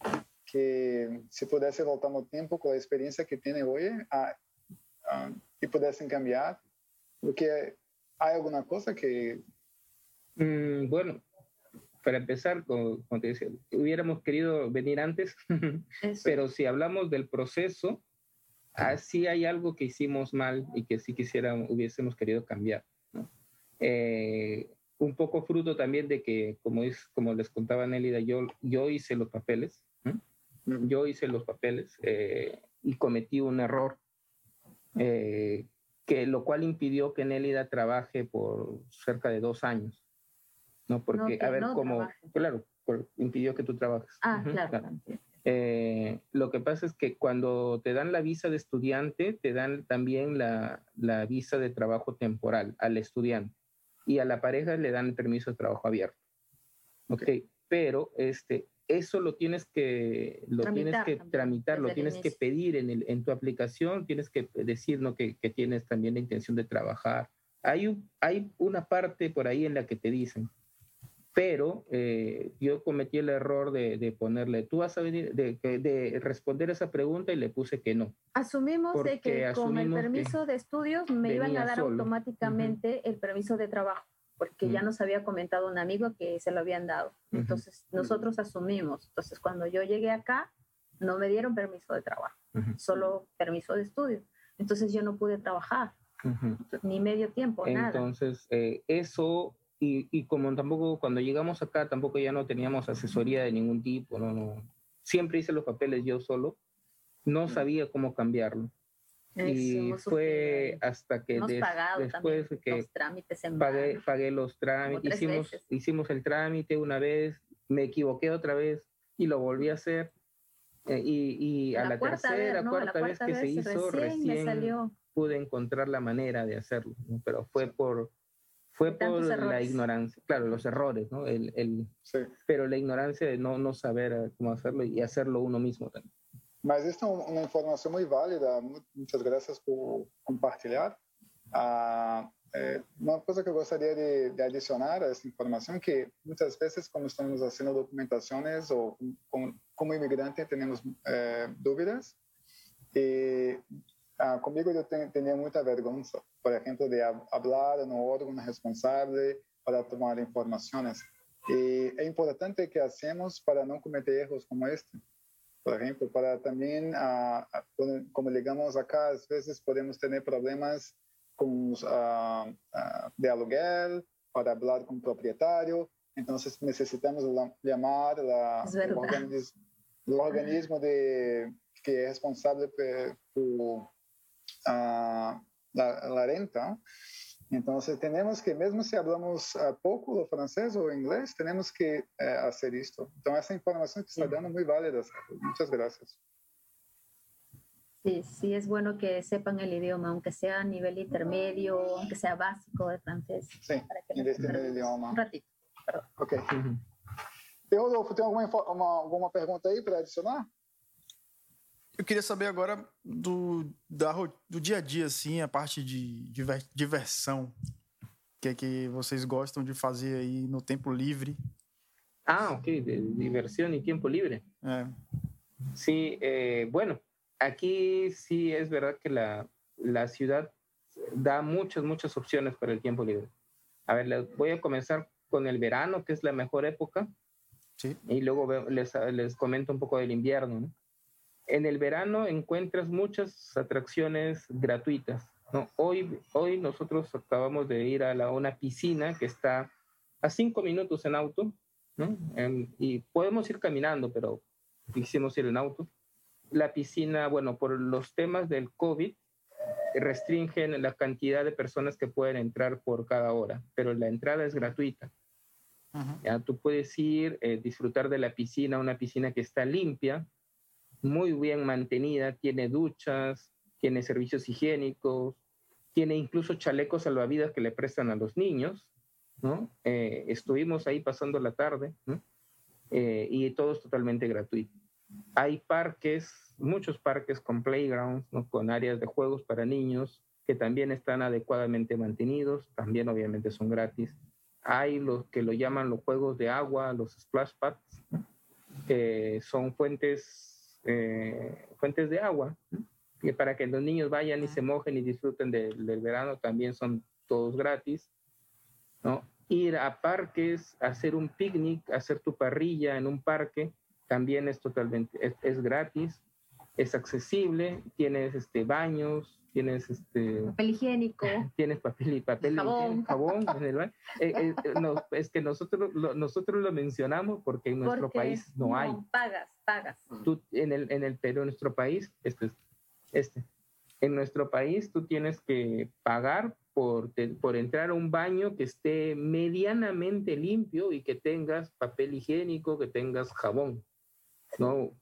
que se pudesse voltar no tempo com a experiência que tem hoje a, a, e pudessem cambiar, porque há alguma coisa que mm, bueno, para empezar, como, como te decía, hubiéramos querido venir antes, pero si hablamos del proceso, así hay algo que hicimos mal y que sí quisiéramos, hubiésemos querido cambiar, ¿no? Eh, un poco fruto también de que, como, es, como les contaba Nélida, yo, yo hice los papeles, ¿no? yo hice los papeles eh, y cometí un error, eh, que, lo cual impidió que Nélida trabaje por cerca de dos años. No, porque, no, a ver, no como, trabaje. Claro, por, impidió que tú trabajes. Ah, uh-huh, claro. claro. Eh, lo que pasa es que cuando te dan la visa de estudiante, te dan también la, la visa de trabajo temporal al estudiante y a la pareja le dan el permiso de trabajo abierto. Ok, okay. Pero este, eso lo tienes que, lo tramitar, tienes que también, tramitar, lo tienes que pedir en, el, en tu aplicación, tienes que decir, ¿no? que, que tienes también la intención de trabajar. Hay, un, hay una parte por ahí en la que te dicen, pero eh, yo cometí el error de, de ponerle, tú vas a venir, de, de, de responder esa pregunta y le puse que no. Asumimos de que con el permiso de estudios me iban a dar solo. automáticamente uh-huh. el permiso de trabajo, porque uh-huh. ya nos había comentado un amigo que se lo habían dado. Entonces uh-huh. nosotros asumimos. Entonces cuando yo llegué acá, no me dieron permiso de trabajo, uh-huh. solo permiso de estudio. Entonces yo no pude trabajar, uh-huh. ni medio tiempo, Entonces, nada. Entonces eh, eso... Y, y como tampoco, cuando llegamos acá, tampoco ya no teníamos asesoría de ningún tipo, no, no. Siempre hice los papeles yo solo, no sabía cómo cambiarlo. Eso, y fue hasta que des, después que los trámites en pagué, pagué los trámites, hicimos, hicimos el trámite una vez, me equivoqué otra vez y lo volví a hacer. Eh, y, y a la, la tercera, vez, ¿no? cuarta, la cuarta vez que vez se hizo, recién, recién pude encontrar la manera de hacerlo, ¿no? Pero fue por... Fue por la ignorancia, claro, los errores, ¿no? El, el, sí. Pero la ignorancia de no, no saber cómo hacerlo y hacerlo uno mismo también. Mas esta é uma informação muito válida, muitas graças por compartilhar. Ah, é, uma coisa que eu gostaria de, de adicionar a essa informação é que muitas vezes, quando estamos fazendo documentações ou como, como imigrante, temos é, dúvidas e Ah, comigo eu tinha muita vergonha, por exemplo, de falar no órgão responsável para tomar informações. E é importante que hacemos para não cometer erros como este. Por exemplo, para também, ah, como ligamos acá, às vezes podemos ter problemas com os, ah, ah, de aluguel, para falar com o proprietário. Então, necessitamos chamar la, o, organismo, o organismo de, que é responsável por, por Uh, la, la renta. Entonces tenemos que, mesmo si hablamos uh, poco o francés o inglés, tenemos que uh, hacer esto. Entonces esa información que está dando muy válida. Muchas gracias. Sí, sí es bueno que sepan el idioma, aunque sea a nivel intermedio, aunque sea básico de francés. Sí, para que investir en el idioma. Un ratito, perdón. Ok. Uh-huh. E Rodolfo, tem alguma, uma, alguma pergunta aí para adicionar? Eu queria saber agora do, da, do dia a dia, assim, a parte de diver, diversão. O que é que vocês gostam de fazer aí no tempo livre? Ah, ok, de diversión y tiempo libre. Eh. Sí, eh, bueno, aquí sí es verdad que la, la ciudad da muchas, muchas opciones para el tiempo libre. A ver, voy a comenzar con el verano, que es la mejor época. Sí. Y luego ve- les, les comento un poco del invierno, ¿no? En el verano encuentras muchas atracciones gratuitas, ¿no? Hoy, hoy nosotros acabamos de ir a la, una piscina que está a cinco minutos en auto, ¿no? En- y podemos ir caminando, pero quisimos ir en auto. La piscina, bueno, por los temas del COVID, restringen la cantidad de personas que pueden entrar por cada hora, pero la entrada es gratuita. Ujú. ¿Ya? Tú puedes ir, eh, disfrutar de la piscina, una piscina que está limpia, muy bien mantenida, tiene duchas, tiene servicios higiénicos, tiene incluso chalecos salvavidas que le prestan a los niños, ¿no? Eh, estuvimos ahí pasando la tarde, ¿no? Eh, y todo es totalmente gratuito. Hay parques, muchos parques con playgrounds, ¿no? Con áreas de juegos para niños que también están adecuadamente mantenidos, también obviamente son gratis. Hay los que lo llaman los juegos de agua, los splash pads, ¿no? Que son fuentes, eh, fuentes de agua, ¿no? Que para que los niños vayan y se mojen y disfruten de, del verano, también son todos gratis, ¿no? Ir a parques, hacer un picnic, hacer tu parrilla en un parque, también es totalmente, es, es gratis, es accesible, tienes este, baños, tienes este, Papel higiénico. tienes papel y papel Jabón. higiénico, jabón en el baño. Eh, eh, no, es que nosotros lo, nosotros lo mencionamos porque en nuestro Porque país no, hay. Pagas, pagas. Tú, en el, en el Perú, en nuestro país, este, es- este, en nuestro país tú tienes que pagar por, te- por entrar a un baño que esté medianamente limpio y que tengas papel higiénico, que tengas jabón, ¿no?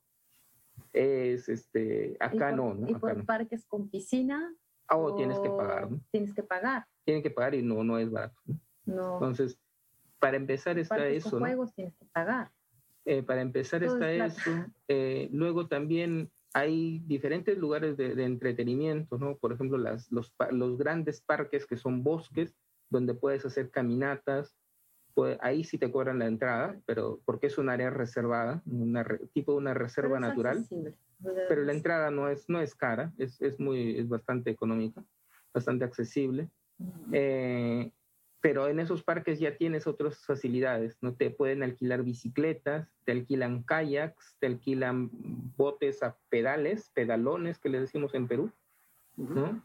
Es, este, acá y por, no, ¿no? Y Acá por no. parques con piscina. Ah, oh, tienes que pagar, ¿no? Tienes que pagar. Tienen que pagar y no, no es barato, ¿no? No. Entonces, para empezar está Parques eso, con ¿no? juegos tienes que pagar. Eh, para empezar Todo está es eso. Eh, luego también hay diferentes lugares de, de entretenimiento, ¿no? Por ejemplo, las, los, pa- los grandes parques que son bosques, donde puedes hacer caminatas. Pues, ahí sí te cobran la entrada, pero porque es un área reservada, una re- tipo de una reserva Pero es natural. accesible. Pero la entrada no es, no es cara, es, es, muy, es bastante económica, bastante accesible. Eh, pero en esos parques ya tienes otras facilidades, ¿no? Te pueden alquilar bicicletas, te alquilan kayaks, te alquilan botes a pedales, pedalones que le decimos en Perú, ¿no?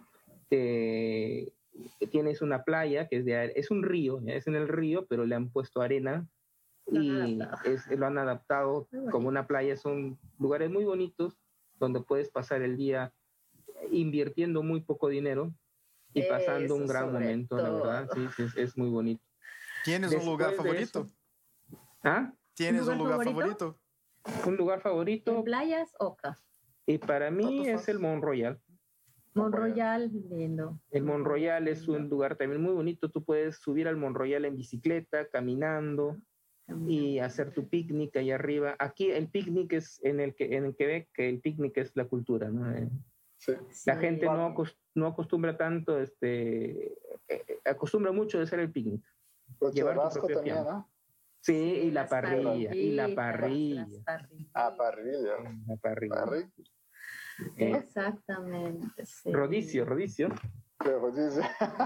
Te- tienes una playa que es de are- es un río, ¿ya? Es en el río, pero le han puesto arena Lo han y adaptado. es, lo han adaptado Muy bonito. como una playa. Son lugares muy bonitos donde puedes pasar el día invirtiendo muy poco dinero y pasando Eso un gran sobre momento, la todo. verdad, sí, sí, es, es muy bonito. ¿Tienes un Después lugar de favorito? eso- ¿Ah? ¿Tienes ¿Un un lugar lugar favorito? favorito? Un lugar ¿En favorito playas o acá? y para mí Tanto es el faz. Mont Royal. Mont Royal, lindo. El Mont Royal es un lugar también muy bonito. Tú puedes subir al Mont Royal en bicicleta, caminando y hacer tu picnic ahí arriba. Aquí el picnic es en el que en el Quebec, que el picnic es la cultura, ¿no? Eh, Sí. La gente no, acos- no acostumbra tanto, este, eh, acostumbra mucho de hacer el picnic. El Llevar tu churrasco propia también, fiambre. ¿no? Sí, y la las parrilla, y la parrillitas, parrilla. las parrillitas. Ah, parrilla. La parrilla. Parrilla. Eh, Exactamente, sí. rodicio, rodicio. Pero dice,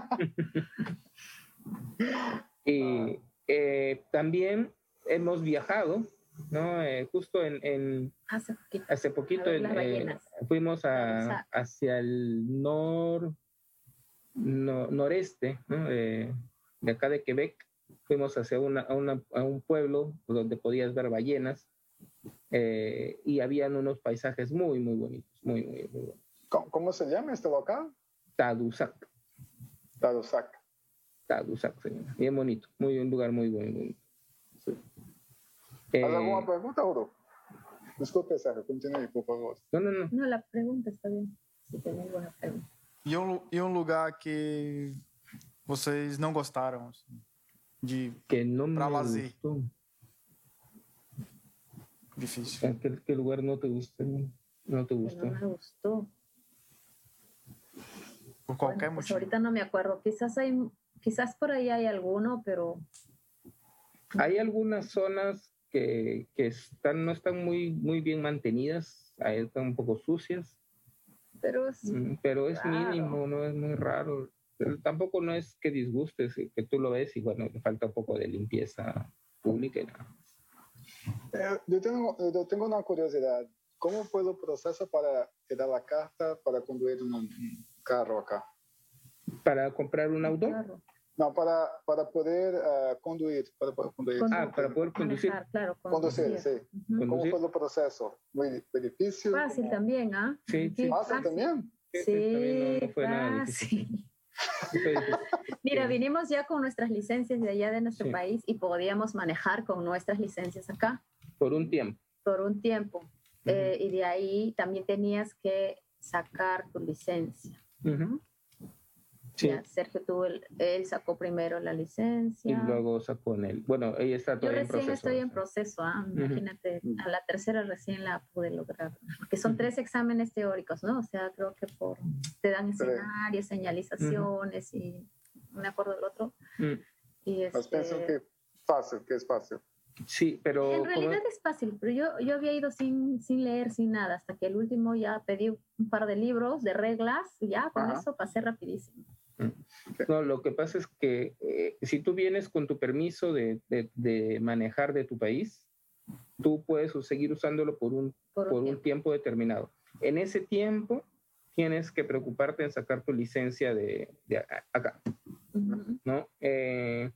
Y eh, también hemos viajado, ¿no? Eh, justo en, en- Hace poquito. hace poquito A ver en, las eh, ballenas. fuimos a, Tadoussac. hacia el nor, no- noreste, ¿no? De, de acá de Quebec. Fuimos hacia una, a, una- a un pueblo donde podías ver ballenas, eh, y habían unos paisajes muy, muy bonitos, muy, muy, muy bonitos. ¿cómo, cómo se llama este local? Tadoussac, Tadoussac. Tadoussac se llama. Bien bonito, muy, un lugar muy, muy bonito. Sí. ¿Has Eh, alguna pregunta, Uro? Disculpe, Sergio, continúe, por favor. no, no, no. No, la pregunta está bien. Si tem alguma pergunta. E um, e um lugar que vocês não gostaram assim, de Que no Pra me lazer. gustó. difícil? ¿A ¿Qué, qué lugar no te gusta? No te Que gustó. no me gustó. Por qualquer Bueno, pues motivo. ahorita no me acuerdo. Quizás hay, quizás por ahí hay alguno, pero Hay algunas zonas que, que están, no están muy, muy bien mantenidas, ahí están un poco sucias, pero es mm, pero es raro. mínimo, no es muy raro. Pero tampoco no es que disgustes, que tú lo ves y bueno, le falta un poco de limpieza pública y nada más. Eh, yo, tengo, yo tengo una curiosidad. ¿Cómo puedo procesar para dar la carta para conducir un, un carro acá? ¿Para comprar un auto? Claro. No, para, para poder uh, conducir. Para poder conducir. Condu- Ah, para poder conducir. Manejar, claro, Conducir, conducir. sí. Ujú. ¿Cómo Conducir. fue el proceso? ¿Muy, muy difícil? Fácil ¿Cómo? también, ¿ah? Sí, sí. ¿Fácil también? Sí, Sí, sí, también no, no fue nada difícil. fácil. No fue difícil. Mira, Sí. vinimos ya con nuestras licencias de allá de nuestro Sí. país y podíamos manejar con nuestras licencias acá Por un tiempo. por un tiempo. Ujú. Eh, y de ahí también tenías que sacar tu licencia. Ujú. Sí. Ya, Sergio tuvo el- él sacó primero la licencia. Y luego sacó en el. Bueno, ella está Yo todavía en recién proceso. estoy en proceso, ah, Ujú. imagínate, a la tercera recién la pude lograr, porque son Ujú. tres exámenes teóricos, ¿no? O sea, creo que por, te dan Tres. escenarios, señalizaciones y no me acuerdo del otro. Mm. Y Pues este, pienso que fácil, que es fácil. Sí, pero. en como- realidad es fácil, pero yo, yo había ido sin, sin leer, sin nada, hasta que el último ya pedí un par de libros de reglas y ya con Ajá. eso pasé rapidísimo. No, lo que pasa es que eh, si tú vienes con tu permiso de, de, de manejar de tu país, tú puedes seguir usándolo por un, Por un por un tiempo. tiempo determinado. En ese tiempo tienes que preocuparte en sacar tu licencia de, de a- acá, Ujú. ¿no? Eh,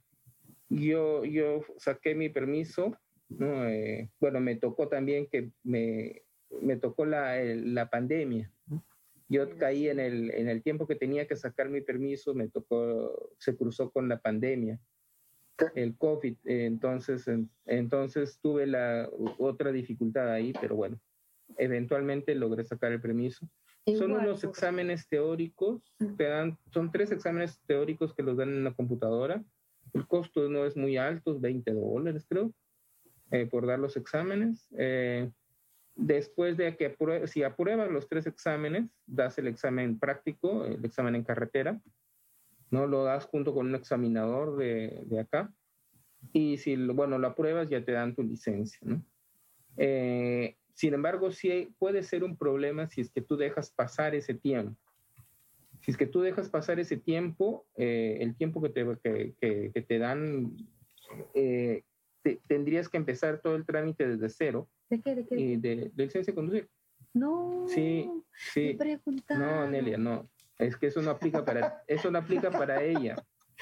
yo, yo saqué mi permiso, ¿no? Eh, bueno, me tocó también que me, me tocó la, el- la pandemia. Yo Sí, caí sí. en el, en el tiempo que tenía que sacar mi permiso, me tocó, se cruzó con la pandemia, ¿Qué? el COVID. eh, Entonces, en- entonces tuve la otra dificultad ahí, pero bueno, eventualmente logré sacar el permiso. Son Igual, unos pues. exámenes teóricos, te dan, son tres exámenes teóricos que los dan en la computadora. El costo no es muy alto, veinte dólares creo, eh, por dar los exámenes. Eh, después de que apruebas, si apruebas los tres exámenes, das el examen práctico, el examen en carretera, ¿no? Lo das junto con un examinador de, de acá. Y si, lo- bueno, lo apruebas, ya te dan tu licencia, ¿no? Eh, sin embargo, sí hay- puede ser un problema si es que tú dejas pasar ese tiempo. Si es que tú dejas pasar ese tiempo, eh, el tiempo que te, que, que, que te dan, eh, te- tendrías que empezar todo el trámite desde cero ¿De qué? ¿De qué? y de, de licencia de conducir. No. Sí, Me sí. preguntaron. No, Nelia, no. Es que eso no aplica para, eso no aplica para ella.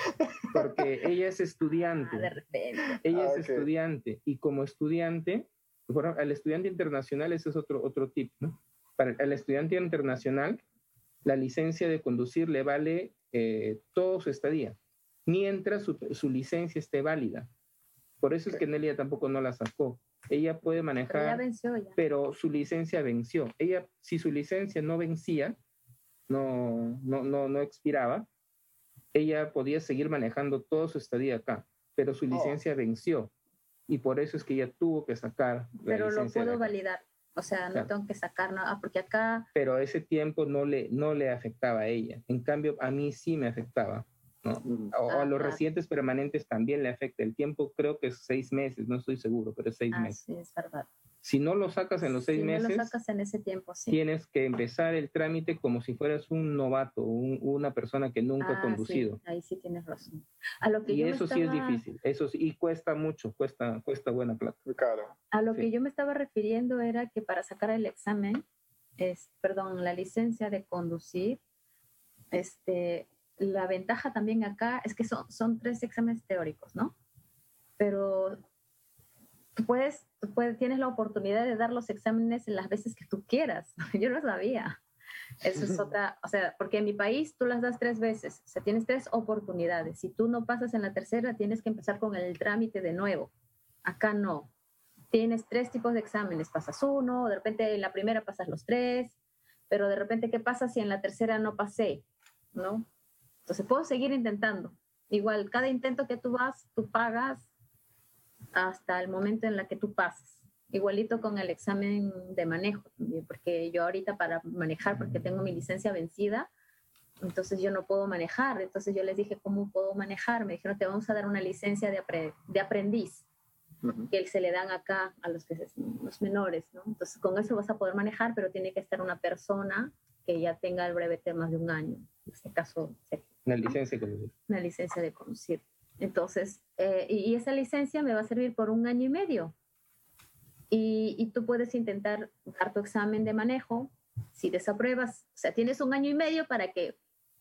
Porque ella es Ah, estudiante. de repente. Ella Ah, es ok. estudiante. Y como estudiante, bueno, al estudiante internacional, ese es otro, otro tip, ¿no? Para el estudiante internacional, la licencia de conducir le vale eh, todo su estadía, mientras su, su licencia esté válida. Por eso es que Nelia tampoco no la sacó. Ella puede Pero ya manejar, venció ya. pero su licencia venció. Ella, si su licencia no vencía, no, no, no, no expiraba, ella podía seguir manejando toda su estadía acá, pero su Oh. licencia venció. Y por eso es que ella tuvo que sacar la Pero lo licencia de puedo acá. validar. O sea, no Claro. tengo que sacar nada, porque acá Pero ese tiempo no le, no le afectaba a ella. En cambio, a mí sí me afectaba, ¿no? Mm. O, o Ah, a los claro. residentes permanentes también le afecta. El tiempo creo que es seis meses, no estoy seguro, pero es seis meses. así es verdad. Si no lo sacas en los seis si meses, no lo sacas en ese tiempo, sí. tienes que empezar el trámite como si fueras un novato, un- una persona que nunca ha Ah, conducido. sí, ahí sí tienes razón. A lo que Y yo me eso sí es estaba- difícil, eso sí, y cuesta mucho, cuesta, cuesta buena plata. Muy caro. A lo Sí. que yo me estaba refiriendo era que para sacar el examen, es, perdón, la licencia de conducir, este, la ventaja también acá es que son, son tres exámenes teóricos, ¿no? Pero tú puedes, tú puedes, tienes la oportunidad de dar los exámenes en las veces que tú quieras. Yo no sabía. Eso es otra, o sea, porque en mi país tú las das tres veces, o sea, tienes tres oportunidades. Si tú no pasas en la tercera, tienes que empezar con el trámite de nuevo. Acá no. Tienes tres tipos de exámenes, pasas uno, de repente en la primera pasas los tres, pero de repente, ¿qué pasa si en la tercera no pasé? ¿No? Entonces puedo seguir intentando. Igual, cada intento que tú vas, tú pagas hasta el momento en la que tú pasas. Igualito con el examen de manejo también, porque yo ahorita para manejar, porque tengo mi licencia vencida, entonces yo no puedo manejar. Entonces yo les dije, ¿cómo puedo manejar? Me dijeron, te vamos a dar una licencia de, apre- de aprendiz, Ujú. que se le dan acá a los, que se- los menores, ¿no? Entonces con eso vas a poder manejar, pero tiene que estar una persona que ya tenga el brevete más de un año. En este caso, La licencia de conducir. una licencia de conducir. Entonces, eh, y, y esa licencia me va a servir por un año y medio. y, y tú puedes intentar dar tu examen de manejo. Si desapruebas, o sea, tienes un año y medio para que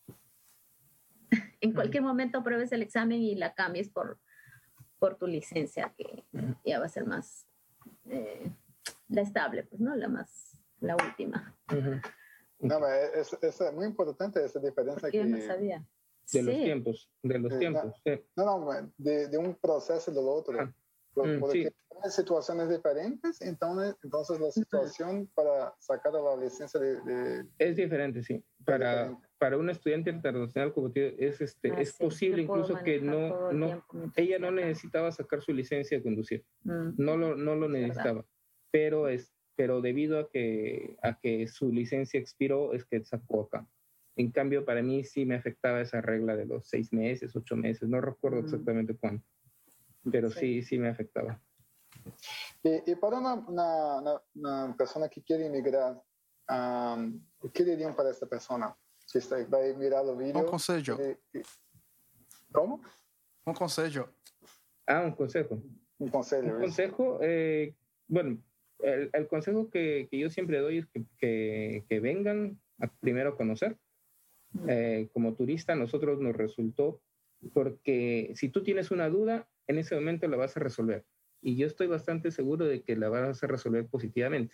en cualquier momento apruebes el examen y la cambies por, por tu licencia, que ya va a ser más eh, la estable, pues, ¿no? La más, la última. Uh-huh. No, es, es muy importante esa diferencia. Yo que, no sabía. De sí. los tiempos, de los eh, tiempos. No, sí. no, no de, de un proceso del otro. Ah. Porque Mm, sí. hay situaciones diferentes, entonces, entonces la situación para sacar la licencia de... de es diferente, sí. Para, diferente. para un estudiante internacional como tío, es, este, Ah, es sí. posible incluso que no, no ella no acá. necesitaba sacar su licencia de conducir. Mm. No lo, no lo Es necesitaba. verdad. Pero, es, pero debido a que, a que su licencia expiró, es que sacó acá. En cambio, para mí sí me afectaba esa regla de los seis meses, ocho meses. No recuerdo Mm. exactamente cuándo. Pero sí, sí, sí me afectaba. Y, y para una, una, una, una persona que quiere emigrar, um, ¿qué dirían para esta persona? Si está, va a mirar los vídeos. Un consejo. ¿Cómo? Un consejo. Ah, un consejo. Un consejo. Un consejo, eh, bueno, el, el consejo que, que yo siempre doy es que, que, que vengan a primero a conocer. Eh, como turista, a nosotros nos resultó, porque si tú tienes una duda, en ese momento la vas a resolver. Y yo estoy bastante seguro de que la vas a resolver positivamente.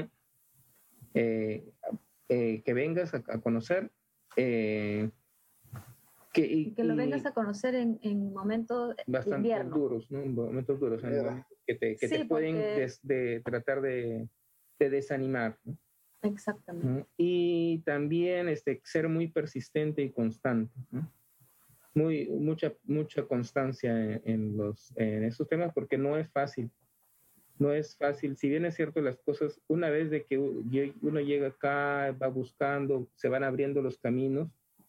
eh, eh, que vengas a, a conocer. Eh, que, y, que lo vengas a conocer en, en momentos de invierno. duros, ¿no? En momentos duros, en momentos que te, que sí, te pueden porque... des, de, tratar de, de desanimar, ¿no? Exactamente. ¿no? Y también este, ser muy persistente y constante, ¿no? Muy, mucha, mucha constancia en, en, los, en estos temas, porque no es fácil. No es fácil. Si bien es cierto, las cosas, una vez de que uno llega acá, va buscando, se van abriendo los caminos,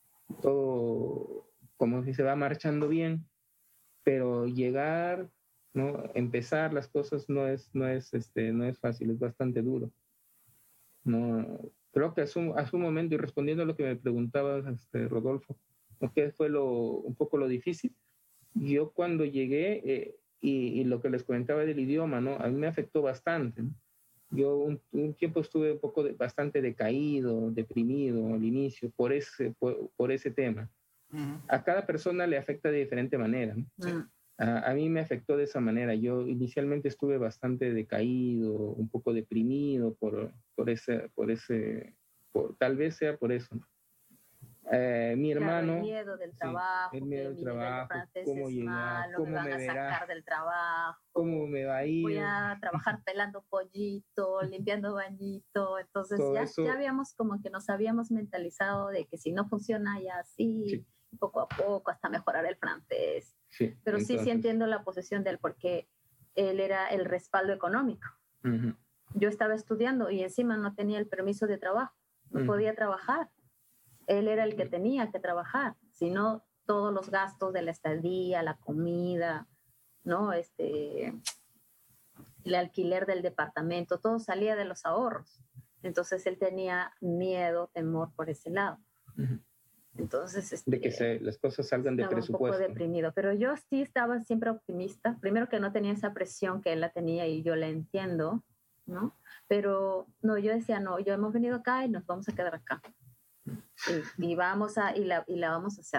todo como si se va marchando bien, pero llegar, ¿no? Empezar las cosas no es, no es, este, no es fácil, es bastante duro. No, creo que a su, a su momento, y respondiendo a lo que me preguntabas, este, Rodolfo, ¿qué fue lo, un poco lo difícil? Yo cuando llegué, eh, y, y lo que les comentaba del idioma, ¿no? A mí me afectó bastante, ¿no? Yo un, un tiempo estuve un poco de, bastante decaído, deprimido al inicio por ese, por, por ese tema. Uh-huh. A cada persona le afecta de diferente manera, ¿no? Sí. A, a mí me afectó de esa manera. Yo inicialmente estuve bastante decaído, un poco deprimido por, por ese, por ese por, tal vez sea por eso, ¿no? Eh, mi hermano, claro, el miedo del trabajo, sí, el miedo del trabajo, cómo llegar, malo, cómo me van me a verá, sacar del trabajo, cómo me va a ir, voy a trabajar pelando pollito, limpiando bañito, entonces ya, eso, ya habíamos como que nos habíamos mentalizado de que si no funciona ya así, sí. poco a poco hasta mejorar el francés, sí, pero entonces, sí, sí entiendo la posición de él porque él era el respaldo económico. Uh-huh. Yo estaba estudiando y encima no tenía el permiso de trabajo, no uh-huh. podía trabajar. Él era el que tenía que trabajar, sino todos los gastos de la estadía, la comida, ¿no? Este, el alquiler del departamento, todo salía de los ahorros. Entonces él tenía miedo, temor por ese lado. Uh-huh. Entonces, este, de que se, las cosas salgan de presupuesto. Un poco deprimido, pero yo sí estaba siempre optimista. Primero que no tenía esa presión que él la tenía y yo la entiendo, ¿no? Pero no, yo decía, no, yo hemos venido acá y nos vamos a quedar acá. Y, y vamos a y la, y la vamos a hacer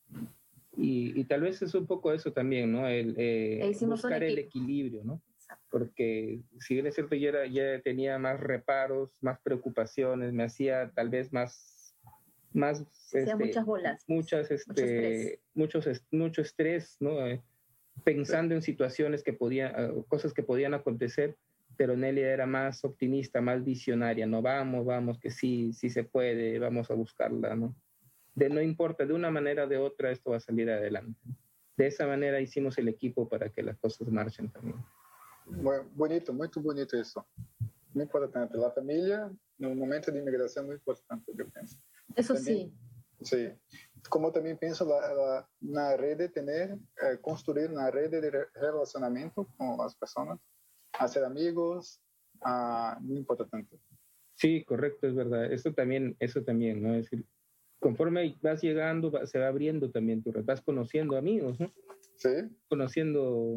y, y tal vez es un poco eso también, ¿no? El eh, e buscar el equilibrio, ¿no? Exacto. Porque si bien es cierto yo era, ya tenía más reparos, más preocupaciones, me hacía tal vez más más este, muchas bolas, muchas este mucho muchos est mucho estrés, ¿no? Eh, pensando en situaciones que podían uh, cosas que podían acontecer. Pero Nelia era más optimista, más visionaria, no, vamos, vamos, que sí, sí se puede, vamos a buscarla, ¿no? De no importa, de una manera o de otra, esto va a salir adelante. De esa manera hicimos el equipo para que las cosas marchen también. Muy bonito, muy bonito eso. Muy importante. La familia, en un momento de inmigración, muy importante, yo pienso. Eso también, sí. Sí. Como también pienso, la, la, una red de tener, eh, construir una red de relacionamiento con las personas. Hacer amigos, uh, muy importante. Sí, correcto, es verdad. Eso también, eso también, ¿no? Es decir, conforme vas llegando, va, se va abriendo también tu red, vas conociendo amigos, ¿no? Sí. Conociendo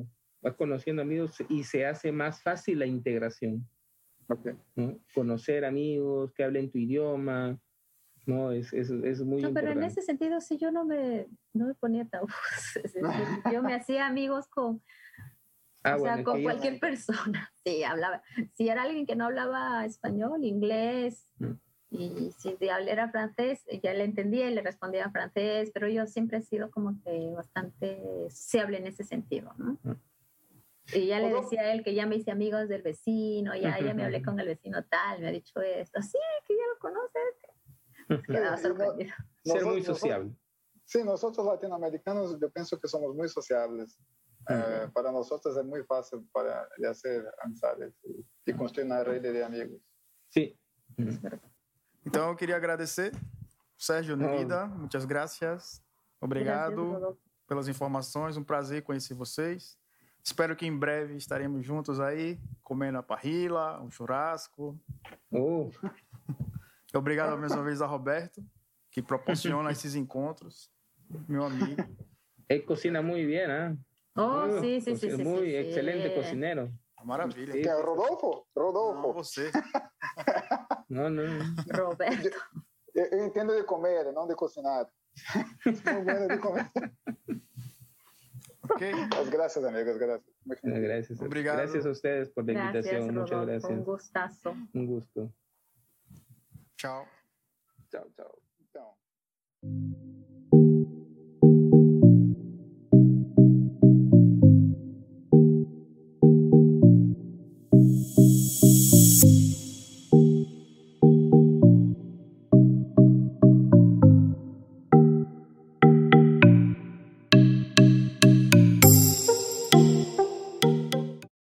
vas conociendo amigos y se hace más fácil la integración. Okay. ¿No? Conocer amigos que hablen tu idioma, ¿no? Es, es, es muy no, importante. pero en ese sentido sí yo no me, no me ponía tabús. Es decir, yo me hacía amigos con, Ah, o bueno, sea, es con que yo- cualquier persona. Sí, hablaba. Si era alguien que no hablaba español, inglés, Mm. y si de hablar era francés, ya le entendía y le respondía en francés, pero yo siempre he sido como que bastante sociable en ese sentido, ¿no? Mm. Y ya le Bueno. decía a él que ya me hice amigos del vecino, ya, ya me hablé con el vecino tal, me ha dicho esto, sí, que ya lo conoces. Quedaba Sí, y no- sorprendido. Ser muy nosotros- sociable. Sí, nosotros latinoamericanos yo pienso que somos muy sociables. Eh, para nosotros es muy fácil para de hacer amistades y, y construir una red de amigos. Sí. Então, eu queria agradecer, Sérgio Nerida, muitas graças. Obrigado Gracias, Rodolfo. pelas informações, um prazer conhecer vocês. Espero que em breve estaremos juntos aí, comendo a parrilla, um churrasco. Oh, Obrigado mais uma vez a Roberto, que proporciona esses encontros, meu amigo. él cocina muy bien, ¿ah? Oh, Muy- sí, sí, sí, es sí. muy sí, sí. excelente cocinero. Maravilha. Sí. Que é o Rodolfo? Não, Rodolfo. você. No, no, no. Roberto. Eu, eu entendo de comer, não de cocinar. Muy bueno de comer. Ok? Mas graças, amigos, graças. Muito Bueno, gracias. Obrigado. Gracias a ustedes por la Gracias, invitación. Muchas Rodolfo. Un gracias. gustazo. Un gusto. Tchau. Chao, chao. Então.